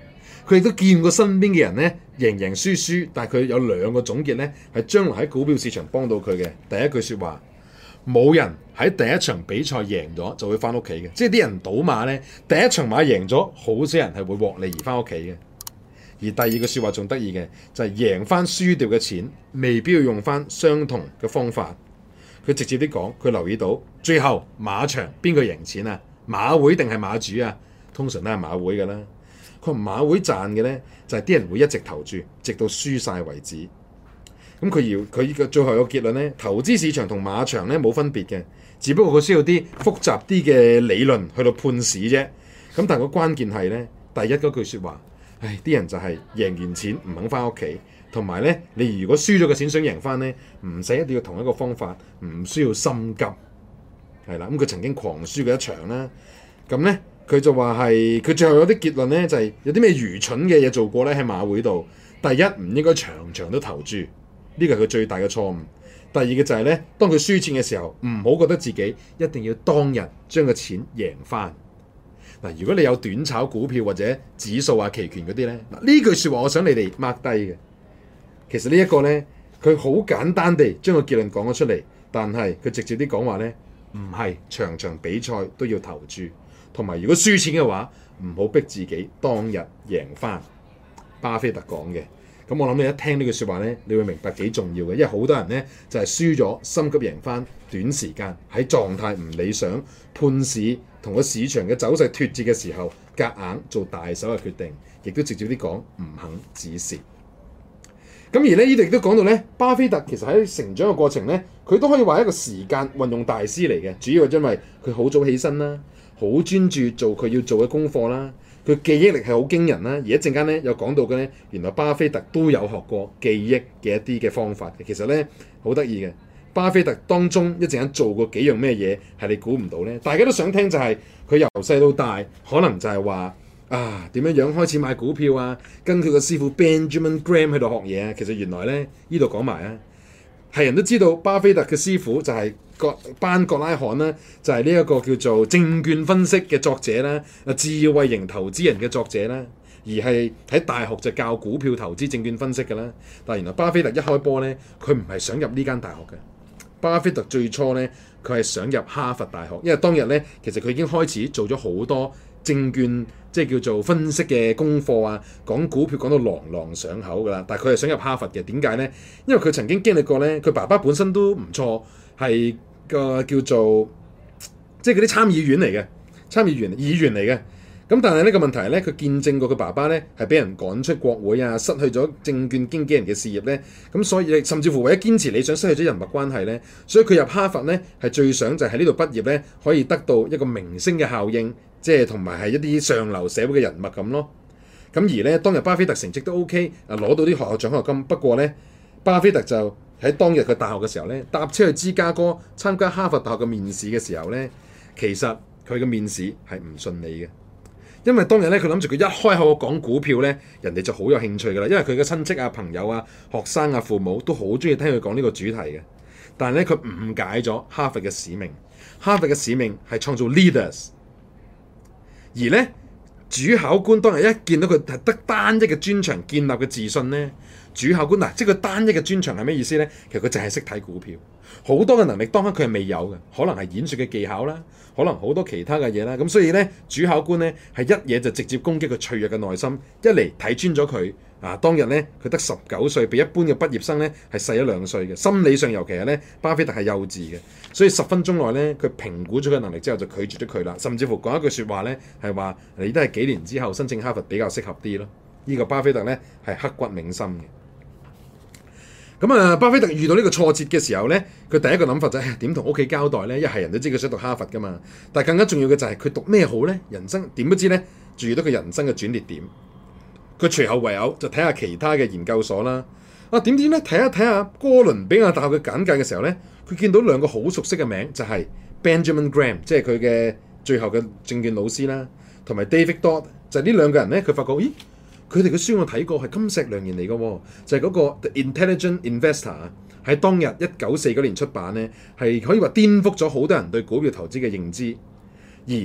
B: 佢亦都見過身邊嘅人咧贏贏輸輸，但係佢有兩個總結咧，係將來喺股票市場幫到佢嘅。第一句説話，冇人喺第一場比賽贏咗就會翻屋企嘅，即係啲人賭馬咧，第一場馬贏咗，好少人係會獲利而翻屋企嘅。而第二句説話仲得意嘅，就係、是、贏翻輸掉嘅錢，未必要用翻相同嘅方法。佢直接啲講，佢留意到最後馬場邊個贏錢啊？馬會定係馬主啊？通常都係馬會㗎啦。佢話馬會賺嘅咧，就係、是、啲人會一直投注，直到輸晒為止。咁佢要佢嘅最後有個結論咧，投資市場同馬場咧冇分別嘅，只不過佢需要啲複雜啲嘅理論去到判市啫。咁但係個關鍵係咧，第一嗰句説話，唉，啲人就係贏完錢唔肯翻屋企，同埋咧，你如果輸咗個錢想贏翻咧，唔使一定要同一個方法，唔需要心急，係啦。咁佢曾經狂輸過一場啦，咁咧。佢就話係，佢最後有啲結論咧，就係、是、有啲咩愚蠢嘅嘢做過咧喺馬會度。第一，唔應該場場都投注，呢個係佢最大嘅錯誤。第二嘅就係咧，當佢輸錢嘅時候，唔好覺得自己一定要當日將個錢贏翻。嗱，如果你有短炒股票或者指數啊、期權嗰啲咧，嗱呢句説話我想你哋 mark 低嘅。其實呢一個咧，佢好簡單地將個結論講咗出嚟，但係佢直接啲講話咧，唔係場場比賽都要投注。同埋，如果輸錢嘅話，唔好逼自己當日贏翻。巴菲特講嘅，咁我諗你一聽呢句説話咧，你會明白幾重要嘅，因為好多人咧就係、是、輸咗，心急贏翻，短時間喺狀態唔理想，判市同個市場嘅走勢脫節嘅時候，夾硬做大手嘅決定，亦都直接啲講唔肯止蝕。咁而咧呢度亦都講到咧，巴菲特其實喺成長嘅過程咧，佢都可以話係一個時間運用大師嚟嘅，主要係因為佢好早起身啦。好專注做佢要做嘅功課啦，佢記憶力係好驚人啦。而一陣間咧有講到嘅咧，原來巴菲特都有學過記憶嘅一啲嘅方法嘅。其實咧好得意嘅，巴菲特當中一陣間做過幾樣咩嘢係你估唔到咧？大家都想聽就係、是、佢由細到大，可能就係話啊點樣樣開始買股票啊，跟佢個師傅 Benjamin Graham 喺度學嘢啊。其實原來咧呢度講埋啊，係人都知道巴菲特嘅師傅就係、是。個班葛拉罕咧就係呢一個叫做證券分析嘅作者啦，啊智慧型投資人嘅作者啦，而係喺大學就教股票投資證券分析嘅啦。但係原來巴菲特一開波咧，佢唔係想入呢間大學嘅。巴菲特最初咧，佢係想入哈佛大學，因為當日咧其實佢已經開始做咗好多證券即係叫做分析嘅功課啊，講股票講到朗朗上口㗎啦。但係佢係想入哈佛嘅，點解咧？因為佢曾經經歷過咧，佢爸爸本身都唔錯。係個叫做即係嗰啲參議員嚟嘅，參議員議員嚟嘅。咁但係呢個問題咧，佢見證過佢爸爸咧係俾人趕出國會啊，失去咗證券經紀人嘅事業咧。咁所以甚至乎為咗堅持理想，失去咗人脈關係咧。所以佢入哈佛咧係最想就係喺呢度畢業咧，可以得到一個明星嘅效應，即係同埋係一啲上流社會嘅人脈咁咯。咁而咧當日巴菲特成績都 OK， 啊攞到啲學校獎學金。不過咧，巴菲特就喺當日佢大學嘅時候咧，搭車去芝加哥參加哈佛大學嘅面試嘅時候咧，其實佢嘅面試係唔順利嘅，因為當日咧佢諗住佢一開口講股票咧，人哋就好有興趣㗎啦，因為佢嘅親戚啊、朋友啊、學生啊、父母都好中意聽佢講呢個主題嘅。但係咧佢誤解咗哈佛嘅使命，哈佛嘅使命係創造 leaders， 而咧主考官當日一見到佢係得單一嘅專長建立嘅自信咧。主考官嗱，即係佢單一嘅專長係咩意思咧？其實佢淨係識睇股票，好多嘅能力當刻佢係未有嘅，可能係演說嘅技巧啦，可能好多其他嘅嘢啦。咁所以咧，主考官咧係一嘢就直接攻擊佢脆弱嘅內心，一嚟睇穿咗佢啊。當日咧佢得十九歲，比一般嘅畢業生咧係細一兩歲嘅，心理上尤其係咧巴菲特係幼稚嘅，所以十分鐘內咧佢評估咗佢能力之後就拒絕咗佢啦，甚至乎講一句説話咧係話你都係幾年之後申請哈佛比較適合啲咯。呢個巴菲特咧係刻骨銘心嘅。咁啊，巴菲特遇到呢個挫折嘅時候咧，佢第一個諗法就係點同屋企交代咧？一係人都知佢想讀哈佛噶嘛，但係更加重要嘅就係佢讀咩好咧？人生點都知咧，仲遇到佢人生嘅轉捩點。佢隨後唯有就睇下其他嘅研究所啦。啊，點知咧睇下睇下哥倫比亞大學嘅簡介嘅時候咧，佢見到兩個好熟悉嘅名，就係、是、Benjamin Graham， 即係佢嘅最後嘅證券老師啦，同埋 David Dodd， 就係呢兩個人咧，佢發覺咦？佢哋嘅書我睇過係金石良言嚟嘅喎，就係、是、嗰個 The Intelligent Investor 喺當日一九四九年出版咧，係可以話顛覆咗好多人對股票投資嘅認知。而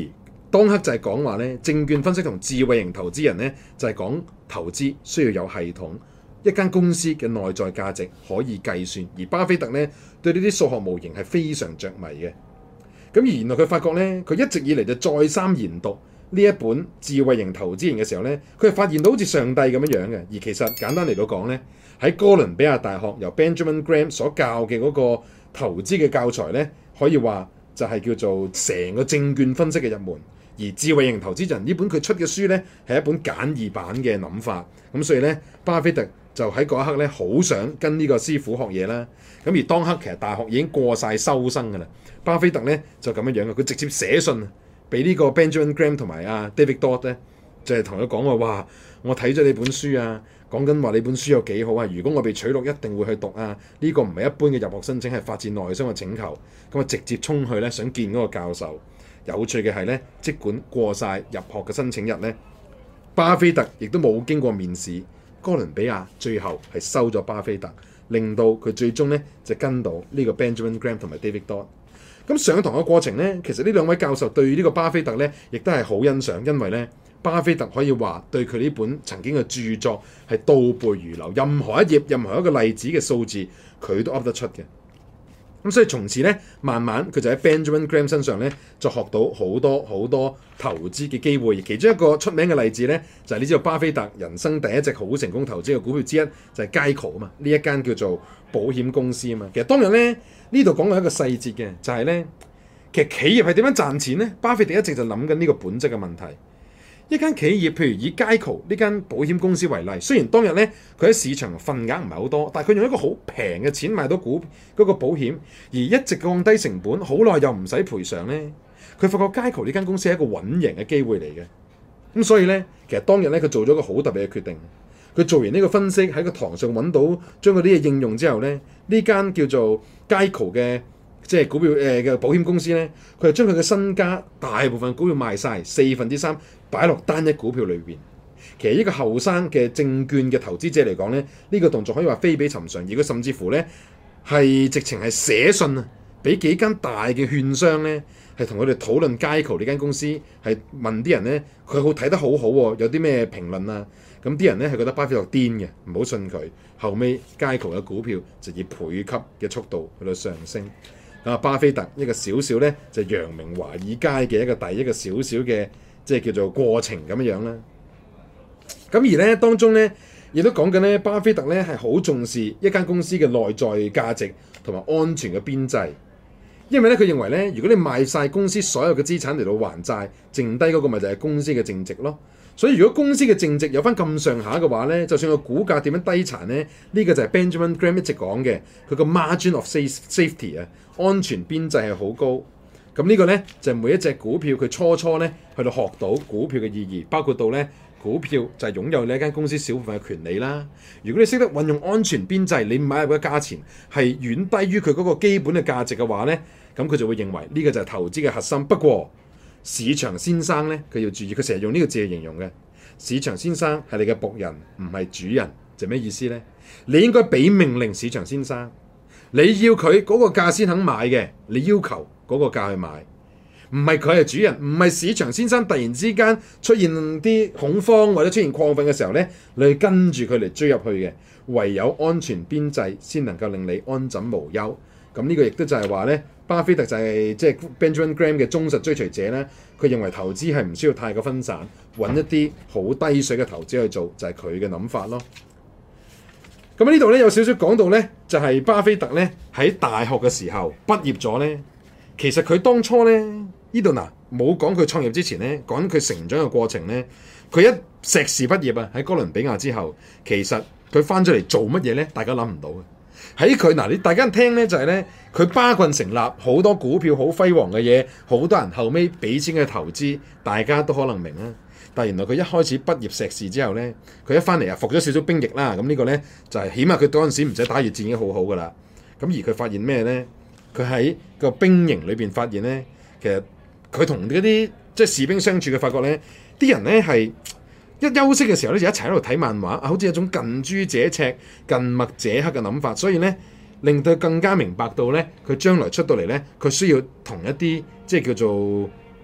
B: 當刻就係講話咧，證券分析同智慧型投資人咧就係講投資需要有系統，一間公司嘅內在價值可以計算，而巴菲特咧對呢啲數學模型係非常着迷嘅。咁而原來佢發覺咧，佢一直以嚟就再三研讀呢一本智慧型投資人嘅時候咧，佢係發現到好似上帝咁樣樣嘅。而其實簡單嚟到講咧，喺哥倫比亞大學由 Benjamin Graham 所教嘅嗰個投資嘅教材咧，可以話就係叫做成個證券分析嘅入門。而智慧型投資人呢本佢出嘅書咧，係一本簡易版嘅諗法。咁所以咧，巴菲特就喺嗰一刻咧，好想跟呢個師傅學嘢啦。咁而當刻其實大學已經過晒收生㗎啦。巴菲特咧就咁樣樣嘅，佢直接寫信俾呢個 Benjamin Graham 同埋阿 David Dodd 咧，就係同佢講話：哇，我睇咗你本書啊，講緊話你本書有幾好啊！如果我被取錄，一定會去讀啊！呢個唔係一般嘅入學申請，係發自內心嘅請求。咁啊，直接衝去咧，想見嗰個教授。有趣嘅係咧，即管過晒入學嘅申請日咧，巴菲特亦都冇經過面試，哥倫比亞最後係收咗巴菲特，令到佢最終咧就跟到呢個 Benjamin Graham 同埋 David Dodd。咁上堂嘅過程咧，其實呢兩位教授對呢個巴菲特咧，亦都係好欣賞，因為咧巴菲特可以話對佢呢本曾經嘅著作係倒背如流，任何一頁、任何一個例子嘅數字，佢都噏得出嘅。咁所以從此咧，慢慢佢就喺 Benjamin Graham 身上咧，就學到好多好多投資嘅機會。而其中一個出名嘅例子咧，就係、是、你知道巴菲特人生第一隻好成功投資嘅股票之一，就係 Geico 啊嘛，呢一間叫做保險公司啊嘛。其實當日咧，呢度講到一個細節嘅，就係、是、咧，其實企業係點樣賺錢咧？巴菲特一直就諗緊呢個本質嘅問題。一間企業，譬如以 Geico 呢間保險公司為例，雖然當日咧佢喺市場份額唔係好多，但係佢用一個好平嘅錢買到股嗰、嗰個保險，而一直降低成本，好耐又唔使賠償咧。佢發覺 Geico 呢間公司係一個穩贏嘅機會嚟嘅。咁所以咧，其實當日咧佢做咗個好特別嘅決定。佢做完呢個分析喺個堂上揾到將嗰啲嘢應用之後咧，呢間叫做 Geico 嘅即係股票誒嘅、呃、保險公司咧，佢係將佢嘅身家大部分股票賣晒，四分之三擺落單一股票裏邊。其實呢個後生嘅證券嘅投資者嚟講咧，呢、呢個動作可以話非比尋常。而佢甚至乎咧係直情係寫信啊，俾幾間大嘅券商咧，係同佢哋討論 Geico 呢間公司，係問啲人咧，佢好睇得好好、啊、喎，有啲咩評論啊？咁啲人咧係覺得巴菲特癲嘅，唔好信佢。後尾 Geico 嘅股票就以倍級嘅速度去到上升。啊，巴菲特一個小小咧就揚名華爾街嘅一個第一個小小嘅即係叫做過程咁樣樣啦。咁而咧當中咧亦都講緊咧，巴菲特咧係好重視一間公司嘅內在價值同埋安全嘅邊際，因為咧佢認為咧，如果你賣晒公司所有嘅資產嚟到還債，剩低嗰個咪就係公司嘅淨值咯。所以如果公司嘅淨值有翻咁上下嘅話咧，就算個股價點樣低殘咧，呢、呢個就係 Benjamin Graham 一直講嘅，佢個 margin of safety 啊，安全邊際係好高。咁呢個咧就係、每一隻股票佢初初咧去到學到股票嘅意義，包括到咧股票就係擁有你一間公司小部分嘅權利啦。如果你識得運用安全邊際，你買入嘅價錢係遠低於佢嗰個基本嘅價值嘅話咧，咁佢就會認為呢個就係投資嘅核心。不過市場先生咧，佢要注意，佢成日用呢個字嚟形容嘅。市場先生係你嘅僕人，唔係主人，就咩意思咧？你應該俾命令市場先生，你要佢嗰個價先肯買嘅，你要求嗰個價去買，唔係佢係主人，唔係市場先生突然之間出現啲恐慌或者出現亢奮嘅時候咧，你去跟住佢嚟追入去嘅，唯有安全邊際先能夠令你安枕無憂。咁呢個亦都就係話咧，巴菲特就係即係 Benjamin Graham 嘅忠實追隨者咧。佢認為投資係唔需要太過分散，揾一啲好低水嘅投資去做，就係佢嘅諗法咯。咁呢度咧有少少講到咧，就係、是、巴菲特咧喺大學嘅時候畢業咗咧，其實佢當初咧呢度嗱冇講佢創業之前咧，講佢成長嘅過程咧，佢一碩士畢業啊喺哥倫比亞之後，其實佢翻咗嚟做乜嘢咧？大家諗唔到嘅。喺佢嗱，你大家聽咧就係咧，佢巴郡成立好多股票好輝煌嘅嘢，好多人後尾俾錢嘅投資，大家都可能明啦。但係原來佢一開始畢業碩士之後咧，佢一翻嚟啊服咗少少兵役啦，咁呢個咧就係起碼佢嗰陣時唔使打越戰已經好好噶啦。咁而佢發現咩咧？佢喺個兵營裏邊發現咧，其實佢同嗰啲即係士兵相處嘅發覺咧，啲人咧係一休息嘅時候咧，就一齊喺度睇漫畫，好似一種近朱者赤、近墨者黑嘅諗法，所以咧令到佢更加明白到咧，佢將來出到嚟咧，佢需要同一啲即係叫做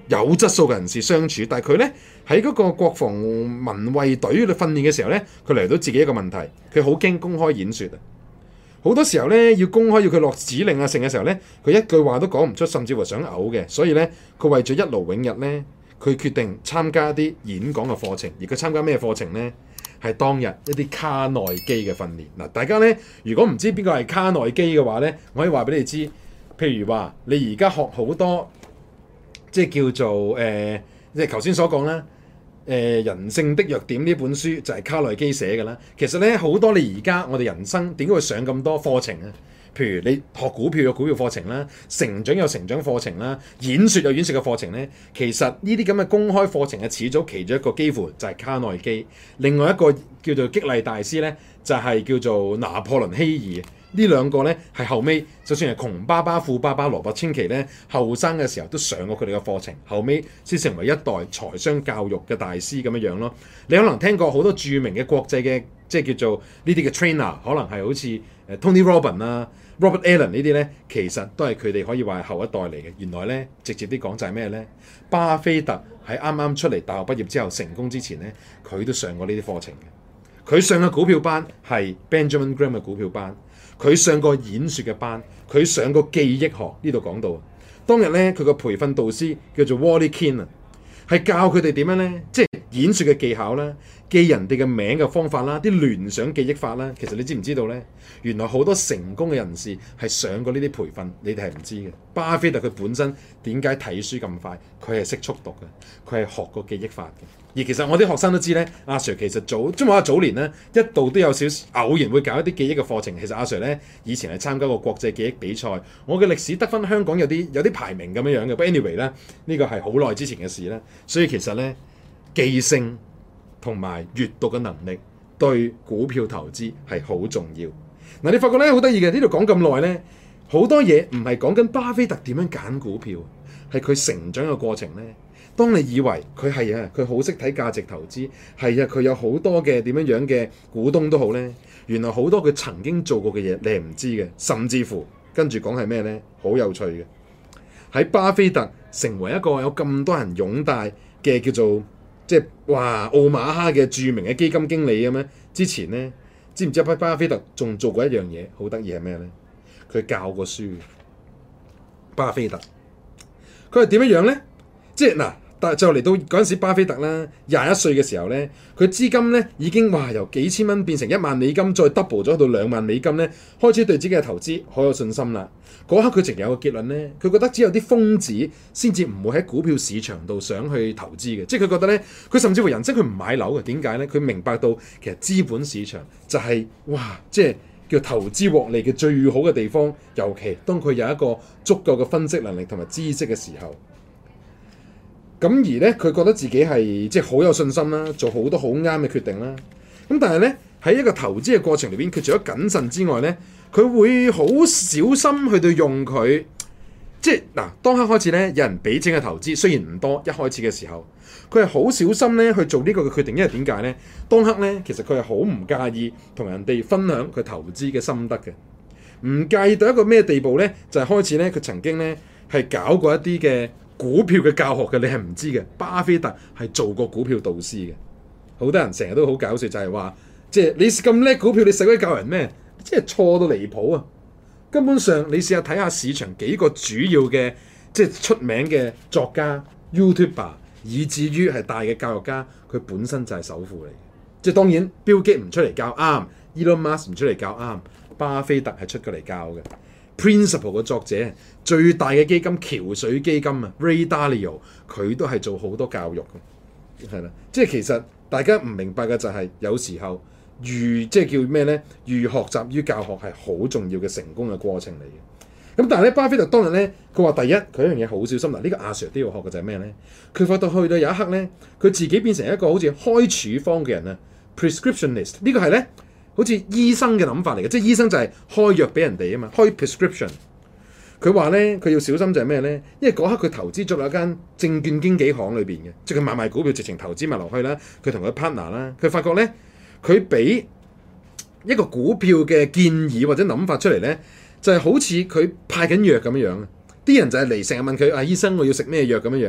B: 有質素嘅人士相處，但係佢咧喺嗰個國防民衛隊訓練嘅時候咧，佢嚟到自己一個問題，佢好驚公開演說啊！好多時候咧要公開要佢落指令啊，成嘅時候咧，佢一句話都講唔出，甚至乎想嘔嘅，所以咧佢為咗一勞永逸咧，佢決定參加一啲演講嘅課程，而佢參加咩課程咧？係當日一啲卡內基嘅訓練。嗱，大家咧如果唔知邊個係卡內基嘅話咧，我可以話俾你知，譬如話你而家學好多。即係叫做誒、呃，即係頭先所講啦。誒、呃，人性的弱點呢本書就係卡內基寫嘅啦。其實咧好多你而家我哋人生點解會上咁多課程啊？譬如你學股票有股票課程啦，成長有成長課程啦，演説有演説嘅課程咧。其實呢啲咁嘅公開課程嘅始祖其中一個幾乎就係卡內基。另外一個叫做激勵大師咧，就係、是、叫做拿破崙希爾。呢兩個咧係後尾，就算係窮爸爸富爸爸羅伯清崎咧，後生嘅時候都上過佢哋嘅課程，後尾先成為一代財商教育嘅大師咁樣樣咯。你可能聽過好多著名嘅國際嘅即係叫做呢啲嘅 trainer，可能係好似誒 Tony Robbins 啊、Robert Allen 呢啲咧，其實都係佢哋可以話係後一代嚟嘅。原來咧直接啲講就係咩咧？巴菲特喺啱啱出嚟大學畢業之後成功之前咧，佢都上過呢啲課程嘅。佢上嘅股票班係 Benjamin Graham 嘅股票班。佢上過演說嘅班，佢上過記憶學，呢度講到當日咧，佢個培訓導師叫做 Wally Keen 啊，係教佢哋點樣咧，即係演說嘅技巧啦，記人哋嘅名嘅方法啦，啲聯想記憶法啦。其實你知唔知道咧？原來好多成功嘅人士係上過呢啲培訓，你哋係唔知嘅。巴菲特佢本身點解睇書咁快？佢係識速讀嘅，佢係學過記憶法嘅。而其實我啲學生都知咧，阿 Sir 其實早即係話早年咧，一度都有少少偶然會搞一啲記憶嘅課程。其實阿 Sir 咧以前係參加過國際記憶比賽，我嘅歷史得分香港有啲有啲排名咁樣樣嘅。不過 anyway 咧，呢個係好耐之前嘅事啦。所以其實咧，記性同埋閱讀嘅能力對股票投資係好重要。嗱，你發覺咧好得意嘅，呢度講咁耐咧，好多嘢唔係講緊巴菲特點樣揀股票，係佢成長嘅過程咧。當你以為佢係啊，佢好識睇價值投資，係啊，佢有好多嘅點樣樣嘅股東都好咧，原來好多佢曾經做過嘅嘢你係唔知嘅，甚至乎跟住講係咩咧？好有趣嘅，喺巴菲特成為一個有咁多人擁戴嘅叫做即係哇奧馬哈嘅著名嘅基金經理咁樣之前咧，知唔知巴菲特仲做過一樣嘢好得意係咩咧？佢教過書。巴菲特佢係點樣樣咧？即係嗱。但就嚟到嗰陣時，巴菲特啦，廿一歲嘅時候咧，佢資金咧已經哇由幾千蚊變成一萬美金，再 double 咗到兩萬美金咧，開始對自己嘅投資好有信心啦。嗰刻佢直有個結論咧，佢覺得只有啲瘋子先至唔會喺股票市場度想去投資嘅，即係佢覺得咧，佢甚至乎人生佢唔買樓嘅，點解咧？佢明白到其實資本市場就係、是、哇，即係叫投資獲利嘅最好嘅地方，尤其當佢有一個足夠嘅分析能力同埋知識嘅時候。咁而咧，佢覺得自己係即係好有信心啦，做好多好啱嘅決定啦。咁但係咧，喺一個投資嘅過程裏邊，佢除咗謹慎之外咧，佢會好小心去到用佢。即係嗱，當刻開始咧，有人俾錢嘅投資，雖然唔多，一開始嘅時候，佢係好小心咧去做呢個嘅決定，因為點解咧？當刻咧，其實佢係好唔介意同人哋分享佢投資嘅心得嘅，唔介意到一個咩地步咧？就係、是、開始咧，佢曾經咧係搞過一啲嘅股票嘅教學嘅，你係唔知嘅。巴菲特係做過股票導師嘅，好多人成日都好搞笑，就係話，即係你咁叻股票，你使鬼教人咩？即係錯到離譜啊！根本上，你試下睇下市場幾個主要嘅即係出名嘅作家、YouTuber， 以至於係大嘅教育家，佢本身就係首富嚟嘅。即係當然，Bill Gates唔出嚟教啱 ，Elon Musk 唔出嚟教啱，巴菲特係出過嚟教嘅。Principle 嘅作者，最大嘅基金橋水基金啊 ，Ray Dalio， 佢都係做好多教育嘅，係啦。即係其實大家唔明白嘅就係、是、有時候寓即係叫咩咧？寓學習於教學係好重要嘅成功嘅過程嚟嘅。咁但係咧，巴菲特當日咧，佢話第一佢一樣嘢好小心嗱，呢、這個阿 Sir 都要學嘅就係咩咧？佢發到去到有一刻咧，佢自己變成一個好似開處方嘅人啊 ，prescriptionist 呢個係咧。好似醫生嘅諗法嚟嘅，即係醫生就係開藥俾人哋啊嘛，開 prescription。佢話咧，佢要小心就係咩咧？因為嗰刻佢投資咗一間證券經紀行裏邊嘅，即係佢買賣股票直情投資埋落去啦。佢同佢 partner 啦，佢發覺咧，佢俾一個股票嘅建議或者諗法出嚟咧，就係、是、好似佢派緊藥咁樣樣。啲人就係嚟成日問佢啊，醫生我要食咩藥咁樣樣。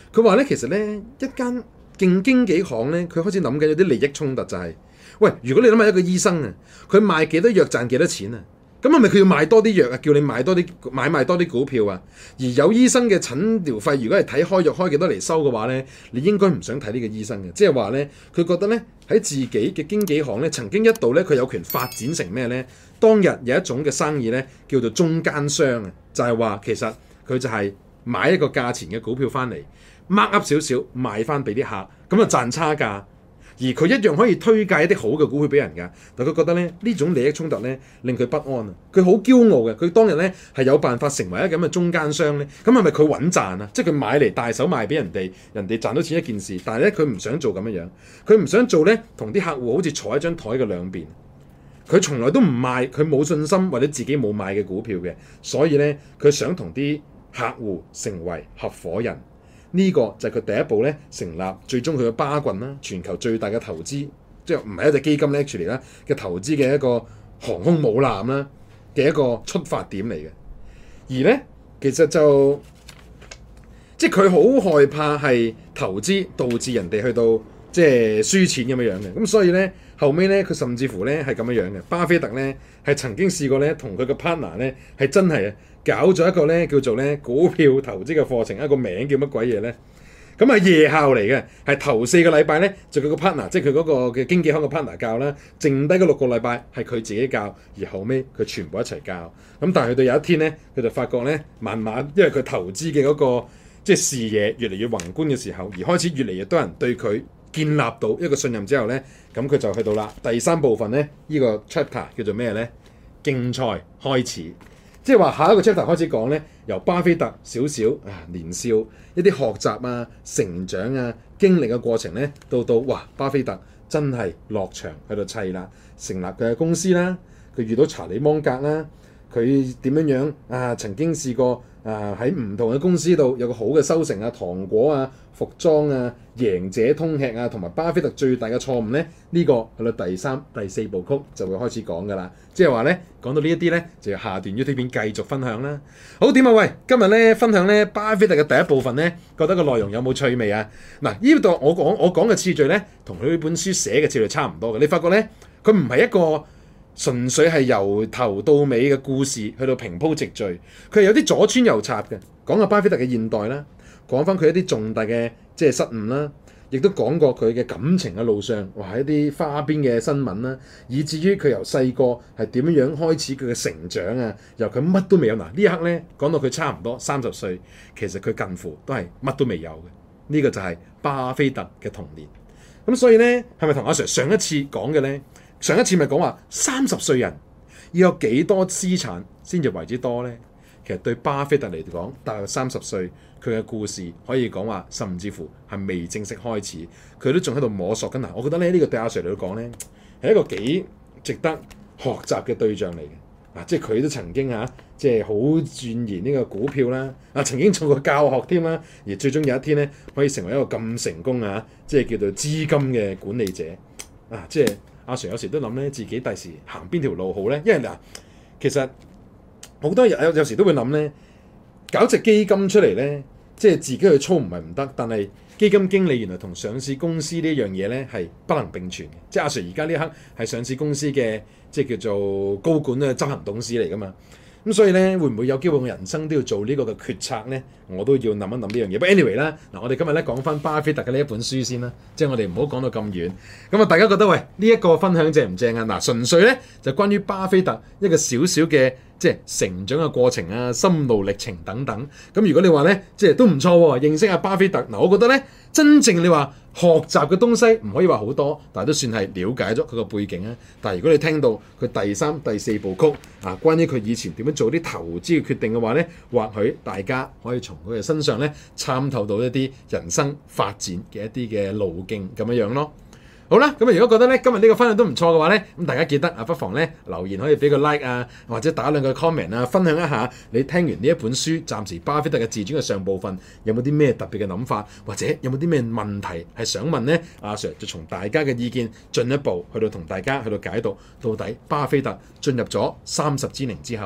B: 佢話咧，其實咧一間勁經紀行咧，佢開始諗緊有啲利益衝突就係、是，喂，如果你諗下一個醫生啊，佢賣幾多藥賺幾多錢啊？咁係咪佢要賣多啲藥啊？叫你買多啲買賣多啲股票啊？而有醫生嘅診療費，如果係睇開藥開幾多嚟收嘅話咧，你應該唔想睇呢個醫生嘅。即係話咧，佢覺得咧喺自己嘅經紀行咧，曾經一度咧佢有權發展成咩咧？當日有一種嘅生意咧叫做中間商啊，就係話其實佢就係買一個價錢嘅股票翻嚟，mark up 少少賣翻俾啲客，咁啊賺差價。而佢一樣可以推介一啲好嘅股票俾人㗎，但佢覺得咧呢種利益衝突咧令佢不安啊！佢好驕傲嘅，佢當日咧係有辦法成為一個咁嘅中間商咧，咁係咪佢穩賺啊？即係佢買嚟大手賣俾人哋，人哋賺到錢一件事，但係咧佢唔想做咁樣樣，佢唔想做咧同啲客戶好似坐喺張台嘅兩邊，佢從來都唔賣佢冇信心或者自己冇買嘅股票嘅，所以咧佢想同啲客戶成為合夥人。呢個就係佢第一步咧，成立最終佢嘅巴郡啦，全球最大嘅投資，即係唔係一隻基金咧，actually啦嘅投資嘅一個航空母艦啦嘅一個出發點嚟嘅。而咧其實就即係佢好害怕係投資導致人哋去到即係輸錢咁樣樣嘅。咁所以咧後尾咧佢甚至乎咧係咁樣樣嘅。巴菲特咧係曾經試過咧同佢嘅 partner 咧係真係啊〜搞咗一個咧叫做咧股票投資嘅課程，一個名叫乜鬼嘢咧？咁係夜校嚟嘅，係頭四個禮拜咧就佢個 partner，即係佢嗰個嘅經紀行嘅 partner 教啦，剩低嗰六個禮拜係佢自己教，而後尾佢全部一齊教。咁但係去到有一天咧，佢就發覺咧，慢慢因為佢投資嘅嗰個即係視野越嚟越宏觀嘅時候，而開始越嚟越多人對佢建立到一個信任之後咧，咁佢就去到啦第三部分咧，呢個 chapter 叫做咩咧？競賽開始。即係話下一個 chapter 開始講咧，由巴菲特少少啊年少一啲學習啊、成長啊、經歷嘅過程咧，到到哇巴菲特真係落場喺度砌啦，成立佢嘅公司啦，佢遇到查理芒格啦，佢點樣樣啊曾經試過啊喺唔同嘅公司度有個好嘅收成啊，糖果啊、服裝啊、贏者通吃啊，同埋巴菲特最大嘅錯誤咧，呢、這個去到第三、第四部曲就會開始講㗎啦。即係話咧，講到呢一啲咧，就要下段 YouTube 片繼續分享啦。好點啊？喂，今日咧分享咧巴菲特嘅第一部分咧，覺得個內容有冇趣味啊？嗱，呢度我講我講嘅次序咧，同佢呢本書寫嘅次序差唔多嘅。你發覺咧，佢唔係一個純粹係由頭到尾嘅故事去到平鋪直敍，佢係有啲左穿右插嘅，講下巴菲特嘅現代啦，講翻佢一啲重大嘅即係失誤啦。亦都講過佢嘅感情嘅路上，哇一啲花邊嘅新聞啦，以至於佢由細個係點樣樣開始佢嘅成長啊，由佢乜都未有嗱呢一刻咧，講到佢差唔多三十歲，其實佢近乎都係乜都未有嘅。呢、這個就係巴菲特嘅童年。咁所以咧，係咪同阿 Sir 上一次講嘅咧？上一次咪講話三十歲人要有幾多資產先至為之多咧？其實對巴菲特嚟講，大約三十歲，佢嘅故事可以講話，甚至乎係未正式開始，佢都仲喺度摸索緊。嗱，我覺得咧呢個對阿 Sir 嚟講咧，係一個幾值得學習嘅對象嚟嘅。啊，即係佢都曾經啊，即係好鑽研呢個股票啦，啊曾經做過教學添啦，而最終有一天咧可以成為一個咁成功啊，即係叫做資金嘅管理者。啊，即係阿 Sir 有時都諗咧，自己第時行邊條路好咧？因為嗱，其實好多人有有時都會諗咧，搞隻基金出嚟咧，即係自己去操唔係唔得，但係基金經理原來同上市公司呢樣嘢咧係不能並存嘅。即係阿 Sir 而家呢一刻係上市公司嘅即係叫做高管嘅執行董事嚟㗎嘛。咁所以咧，會唔會有機會我人生都要做呢個嘅決策咧？我都要諗一諗呢樣嘢。不過 anyway 啦，嗱我哋今日咧講翻巴菲特嘅呢一本書先啦，即係我哋唔好講到咁遠。咁啊，大家覺得喂呢一個分享正唔正啊？嗱，純粹咧就關於巴菲特一個少少嘅即係成長嘅過程啊、心路歷程等等。咁如果你話咧，即係都唔錯喎，認識下巴菲特。嗱，我覺得咧，真正你話學習嘅東西唔可以話好多，但係都算係了解咗佢個背景啊。但係如果你聽到佢第三、第四部曲啊，關於佢以前點樣做啲投資嘅決定嘅話咧，或許大家可以從佢嘅身上咧參透到一啲人生發展嘅一啲嘅路徑咁樣樣咯。好啦，咁啊如果覺得咧今日呢個分享都唔錯嘅話咧，咁大家記得啊不妨咧留言可以俾個 like 啊，或者打兩個 comment 啊，分享一下你聽完呢一本書，暫時巴菲特嘅自傳嘅上部分有冇啲咩特別嘅諗法，或者有冇啲咩問題係想問咧？阿 Sir 就從大家嘅意見進一步去到同大家去到解讀到底巴菲特進入咗三十之齡之後，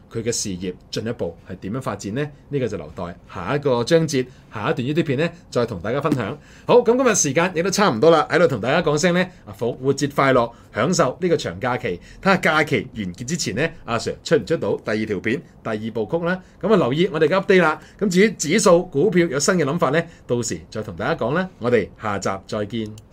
B: 佢嘅事業進一步係點樣發展呢？呢、呢個就留待下一個章節、下一段 YouTube 片咧，再同大家分享。好，咁今日時間亦都差唔多啦，喺度同大家講聲咧，啊復活節快樂，享受呢個長假期。睇下假期完結之前咧，阿 Sir 出唔出到第二條片、第二部曲啦？咁啊留意我哋嘅 update 啦。咁至於指數股票有新嘅諗法咧，到時再同大家講啦。我哋下集再見。